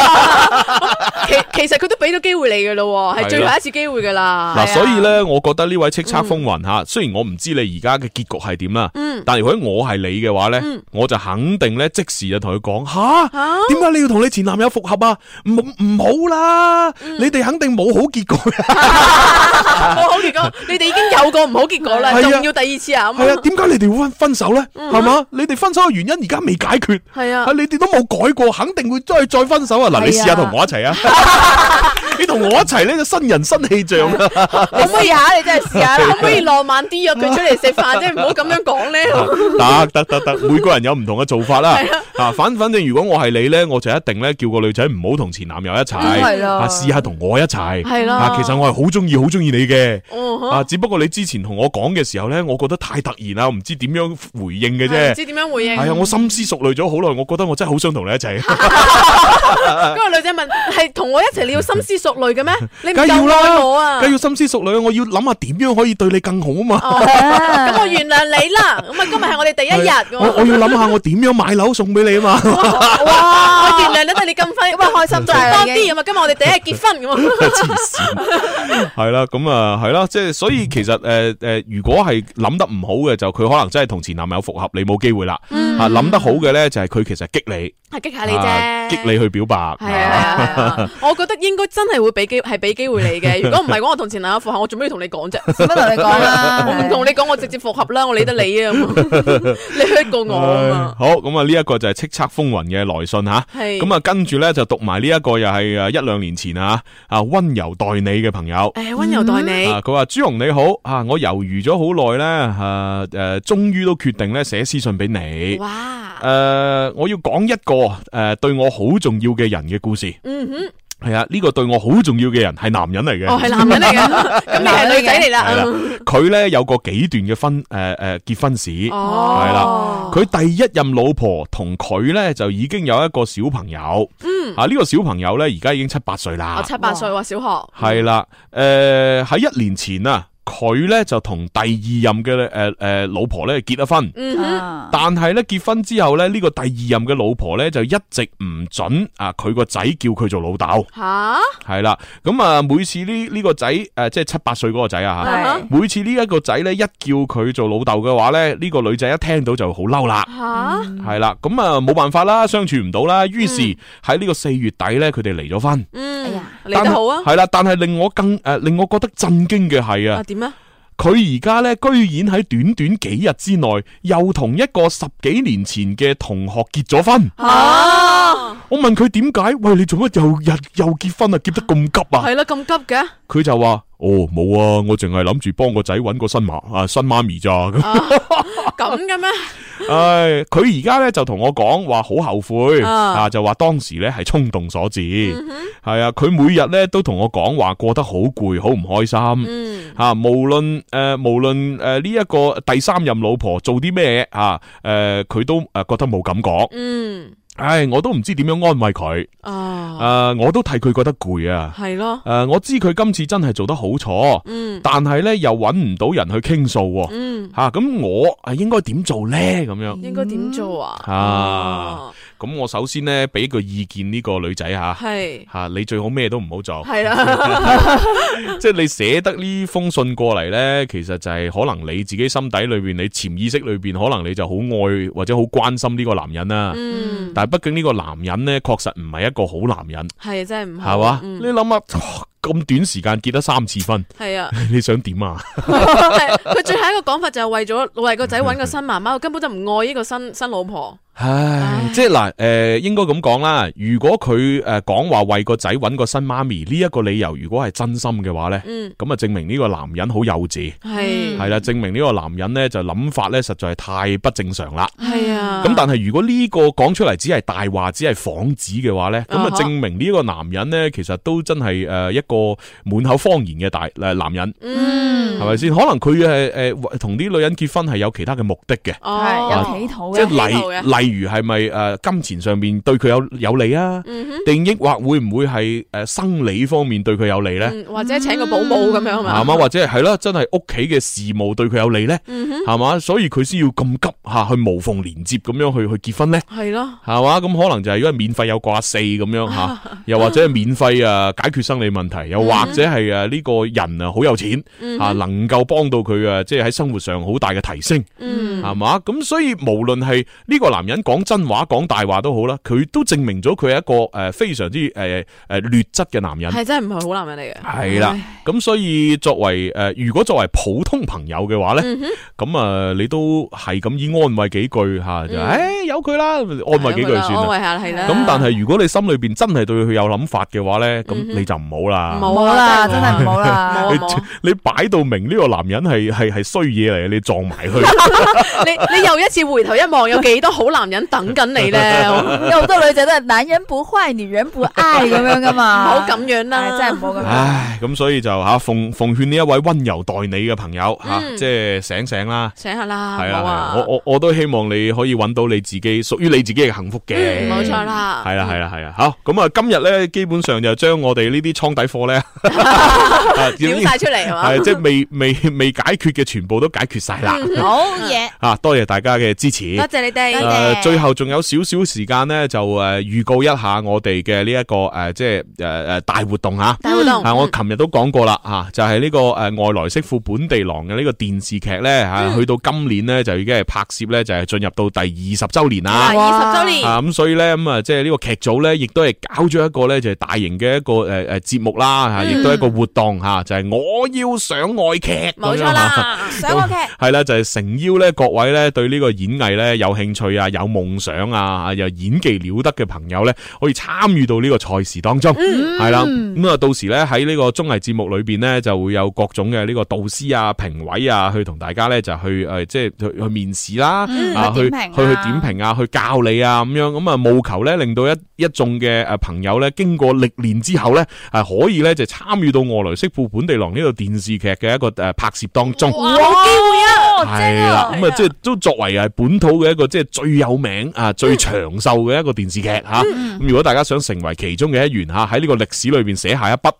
D: 其實佢都俾咗機會你噶咯，係最後一次機會噶啦。
C: 嗱，所以咧，我覺得呢位叱咤風雲吓，雖然我唔知你而家嘅結局係點啦，但係如果我係你嘅話咧，我就肯定咧即時就同佢講吓，點解你要同你前男友復合啊？唔好啦，你哋肯定冇好結果。
D: 冇好結果，你哋已經有個唔好結果啦，仲要第二次啊？
C: 係啊，點解你哋會分手咧？係嘛？你哋分手嘅原因而家未解決，係啊，你哋都冇改過，肯定會再分手啊！嗱，你試下同我一齊啊！你同我一齊呢，就新人新氣象啊！
G: 可唔可以下？你真係試下啦！
D: 可唔可以浪漫啲約佢出嚟食飯啫？唔好咁樣講咧。
C: 得，每個人有唔同嘅做法啦。反正如果我係你咧，我就一定咧叫個女仔唔好同前男友一齊，試下同我一齊。係咯，其實我係好中意你嘅。只不過你之前同我講嘅時候咧，我覺得太突然啦，唔知點樣回應嘅啫。
D: 唔知點樣回應？
C: 係啊，我深思熟慮咗好耐，我覺得我真係好想同你一齊。
D: 嗰個女仔問：係同我一齊？你要深思熟慮嘅咩？你唔夠愛我啊！
C: 梗要深思熟慮，我要諗下點樣可以對你更好啊嘛。
D: 咁我原諒你啦。咁啊，今日係我哋第一日。
C: 我要諗下我點樣買樓送俾你啊嘛。
D: 哇！我原諒你，你咁快咁開心咗多啲啊嘛。今日我哋第一日結婚咁啊。
C: 黐線。係啦，咁啊係啦，即係所以其實如果係諗得唔好嘅，就佢可能真係同前男友復合，你冇機會啦。諗得好嘅咧，就係佢其實激你，
D: 係激下你啫，
C: 激你去表白。
D: 係啊，我覺得應該真係會俾機會你嘅。如果唔係講我同前男友復合，我做咩要同你講啫？
G: 使乜同你講啦？
D: 我唔同你講，我直接復合啦，我理得你啊！你 hurt 過我啊嘛。
C: 好，咁啊呢一個就係叱咤風雲嘅來信吓。係。咁啊跟住咧就讀埋呢一個又係一兩年前啊溫柔待你嘅朋友。
D: 溫柔待你。
C: 佢話朱紅你好我猶豫咗好耐咧終於都決定咧寫私信俾你。哇！我要講一個對我好重要嘅人嘅故事。係啊，呢個對我好重要嘅人係男人嚟嘅。
D: 係男人嚟嘅，咁你係女仔嚟啦。
C: 佢咧有個幾段嘅結婚史。係啦，佢第一任老婆同佢咧就已經有一個小朋友。呢個小朋友咧而家已經7-8歲啦。7-8歲話小學。係啦，喺1年前啊。佢咧就同第二任嘅老婆咧結咗婚，但係咧結婚之後咧呢個第二任嘅老婆咧就一直唔准佢個仔叫佢做老豆。係啦，咁啊每次呢個仔即係7-8歲嗰個仔啊，每次呢一個仔咧一叫佢做老豆嘅話咧，呢個女仔一聽到就好嬲啦。係啦，咁啊冇辦法啦，相處唔到啦，於是喺呢個4月底咧佢哋離咗婚。
D: 離得好啊。
C: 係啦，但係令我覺得震驚嘅係啊。點啊？佢而家咧居然喺短短幾日之內，又同一個10幾年前嘅同學結咗婚。我問佢點解？喂，你做乜又結婚啊？結得咁急啊？
D: 係啦，咁急嘅。佢
C: 就話：冇啊，我淨係諗住幫個仔搵個新媽咪咋。
D: 咁嘅咩？
C: 佢而家咧就同我講話好後悔就話當時咧係衝動所致。係啊，佢每日咧都同我講話過得好攰，好唔開心。無論呢一個第三任老婆做啲咩佢都覺得冇感覺。我都唔知點樣安慰佢。我都替佢覺得攰啊。係咯。我知佢今次真係做得好錯。但係咧又搵唔到人去傾訴。咁我應該點做咧？咁樣應該點做啊？ 咁我首先咧俾個意見呢個女仔吓，係吓你最好咩都唔好做，係啦，即係你寫得呢封信過嚟咧，其實就係可能你自己心底裏邊，你潛意識裏邊，可能你就好愛或者好關心呢個男人啦。但係畢竟呢個男人咧，確實唔係一個好男人，係真係唔係嘛？你諗下。咁短時間結得3次婚，係啊，你想點啊？
D: 佢最後一個講法就係為個仔搵個新媽媽，根本就唔愛呢個新老婆。
C: 唉，即係嗱，應該咁講啦。如果佢講話為個仔搵個新媽咪呢一個理由，如果係真心嘅話咧，咁啊證明呢個男人好幼稚，係啦，證明呢個男人咧就諗法咧實在係太不正常啦。係啊，咁但係如果呢個講出嚟只係大話，只係幌子嘅話咧，咁啊證明呢個男人咧其實都真係一個滿口謊言嘅男人，係咪先？可能佢係同啲女人結婚係有其他嘅目的嘅，
G: 有企圖嘅，
C: 即係例如係咪金錢上面對佢有利啊？定抑或會唔會係生理方面對佢有利咧？
D: 或者請個保姆咁樣係嘛？
C: 或者係啦，真係屋企嘅事務對佢有利咧？係嘛？所以佢先要咁急吓去無縫連接咁樣去結婚咧？係咯，係嘛？咁可能就係因為免費有掛4咁樣吓，又或者係免費解決生理問題，又或者係呢個人好有錢吓，能夠幫到佢即係喺生活上好大嘅提升，係嘛？咁所以無論係呢個男人講真話講大話都好啦，佢都證明咗佢係一個非常之劣質嘅男人，係真係唔係好男人嚟嘅。係啦，咁所以如果作為普通朋友嘅話咧，咁你都係咁以安慰幾句吓，就由佢啦，安慰幾句算啦，安慰下係啦。咁但係如果你心裏邊真係對佢有諗法嘅話咧，咁你就唔好啦，
G: 唔好啦，真係唔好啦。
C: 你擺到明呢個男人係衰嘢嚟，你撞埋佢，
D: 你又一次回頭一望，有幾多好男人等緊你咧？
G: 有好多女仔都係男人不壞，女人不愛咁樣噶嘛，
D: 唔好咁樣啦，
G: 真係唔好咁樣。
C: 唉，咁所以就奉勸呢一位溫柔待你嘅朋友即係醒醒啦，
D: 醒下啦，
C: 係啊，我都希望你可以揾到你自己屬於你自己嘅幸福嘅，
D: 冇錯啦，
C: 係啦，好，咁啊，今日咧基本上就將我哋呢啲倉底貨咧
D: 表晒出嚟係嘛，
C: 係即係未解決嘅全部都解決晒啦，
G: 好嘢，
C: 多謝大家嘅支持，
D: 多謝你哋，
C: 最後仲有少少時間咧，就預告一下我哋嘅呢一個即係大活動吓，大活動，我琴日都講過啦吓，就係呢個外來媳婦本地郎嘅呢個電視劇咧吓，去到今年咧就已經係拍攝咧就係進入到第20周年啦
D: ，20周年
C: 咁所以咧咁即係呢個劇組咧亦都係搞咗一個咧就係大型嘅一個節目啦吓，亦都係一個活動吓，就係我要上外劇，
D: 冇錯啦，上外劇
C: 係啦，就係誠邀咧各位咧對呢個演藝咧有興趣啊，有夢想啊，又演技了得嘅朋友咧，可以參與到呢個賽事當中，係啦，咁啊到時咧喺呢個綜藝節目裏邊咧就會有各種嘅呢個導師啊、評委啊，去同大家咧就去即係去面試啦，去點評啊，去教你啊咁樣，咁啊務求咧令到一眾嘅朋友咧經過歷練之後咧係可以咧就參與到外來媳婦本地郎呢個電視劇嘅一個拍攝當中。
D: 哇，好機會啊！
C: 係啦，咁啊即係都作為係本土嘅一個即係最有名最長壽嘅一個電視劇吓。咁如果大家想成為其中嘅一員吓，喺呢個歷史裏邊寫下一筆，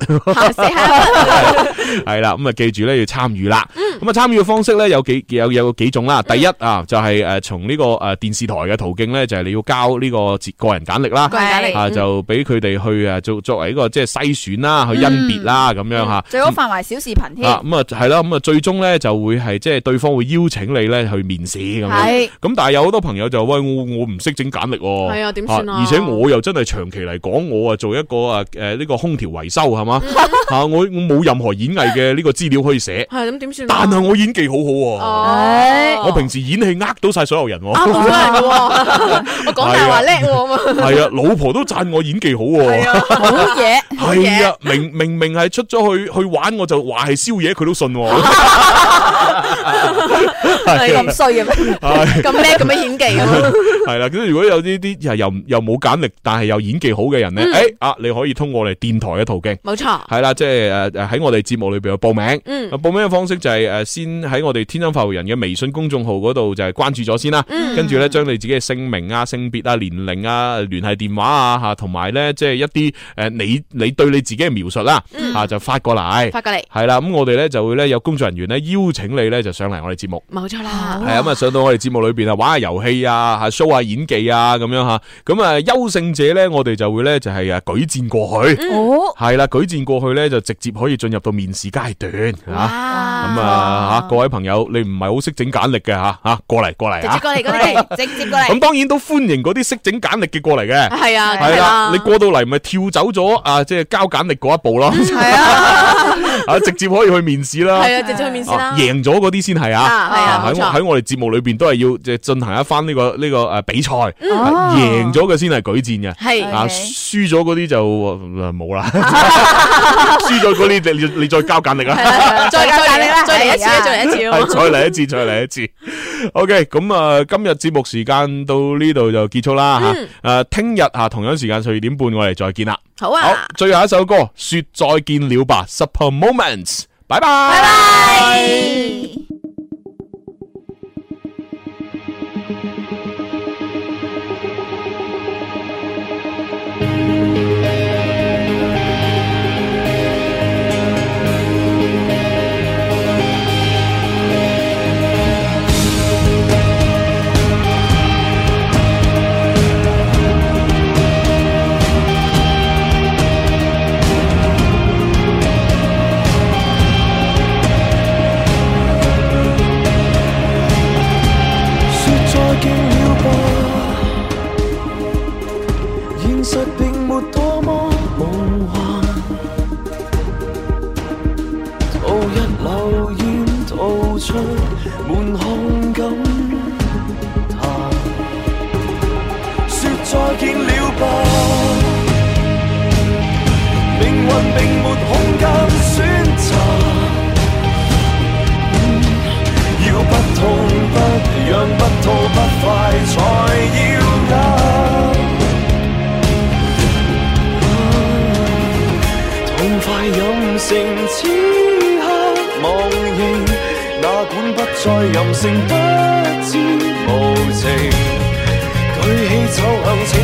C: 係啦，咁啊記住咧要參與啦。咁啊參與嘅方式咧有幾種啦。第一就係從呢個電視台嘅途徑咧，就係你要交呢個個人簡歷啦，就俾佢哋去作為一個即係篩選啦，去甄別啦咁樣吓。
G: 最好發埋小視頻添。
C: 咁啊係啦，咁啊最終咧就會係即係對方會邀請你咧去面試咁樣。咁但係有好多朋友就喂我唔識整簡歷，
D: 係啊點算啊？
C: 而且我又真係長期嚟講，我做一個呢個空調維修係嘛我冇任何演藝嘅呢個資料可以寫。
D: 係咁點算？
C: 但係我演技好好，我平時演戲呃到晒所有人。
D: 我講大話叻喎。
C: 係啊，老婆都讚我演技好。係啊，
G: 好嘢。
C: 係啊，明明係出咗去玩，我就話係宵夜，佢都信。
G: 係咁衰嘅咩？
D: 咁叻咁樣演技咁。
C: 係啦，咁如果有呢啲又冇簡歷，但係又演技好嘅人咧，你可以通過我哋電台嘅途徑。
D: 冇錯。
C: 係啦，即係喺我哋節目裏邊去報名。報名嘅方式就係先喺我哋天生發育人嘅微信公眾號嗰度就係關注咗先啦。跟住咧將你自己嘅姓名啊、性別啊、年齡啊、聯繫電話啊吓，同埋咧即係一啲你對你自己嘅描述啦就發過嚟。係啦，咁我哋咧就會咧有工作人員咧邀請你咧就上嚟我哋節目。
D: 冇錯啦。
C: 係咁啊，上到我哋節目裏邊啊玩下遊戲啊，show 下演技啊咁樣吓。咁啊優勝者咧，我哋就會咧就係舉薦過去，係啦，舉薦過去咧就直接可以進入到面試階段吓。咁啊各位朋友，你唔係好識整簡歷嘅吓過嚟直接過嚟，
G: 直接過嚟。
C: 咁當然都歡迎嗰啲識整簡歷嘅過嚟嘅。
D: 係啊，
C: 係啦，你過到嚟咪跳走咗即係交簡歷嗰一步咯。
D: 係啊，
C: 直接可以去面試啦。
D: 係啊，直接去面試啦。
C: 贏咗嗰啲先係喺我哋節目裏邊都係要即係進行一番呢個比賽，贏咗嘅先係舉薦嘅。係輸咗嗰啲就冇啦。輸咗嗰啲你再交簡歷啦。再交簡歷啦，再嚟一次，再嚟一次。OK， 咁今日節目時間到呢度就結束啦吓。聽日同樣時間12點半我哋再見啦。
D: 好啊。
C: 好，最後一首歌說再見了吧 ，Super Moments， 拜拜。
G: 拜拜。
B: 滿腔感嘆，說再見了吧，命運並沒空間選擇，要不痛不癢不吐不快才要捱，痛快任性此刻忘形，哪管不再任性，不知無情，舉起走向前。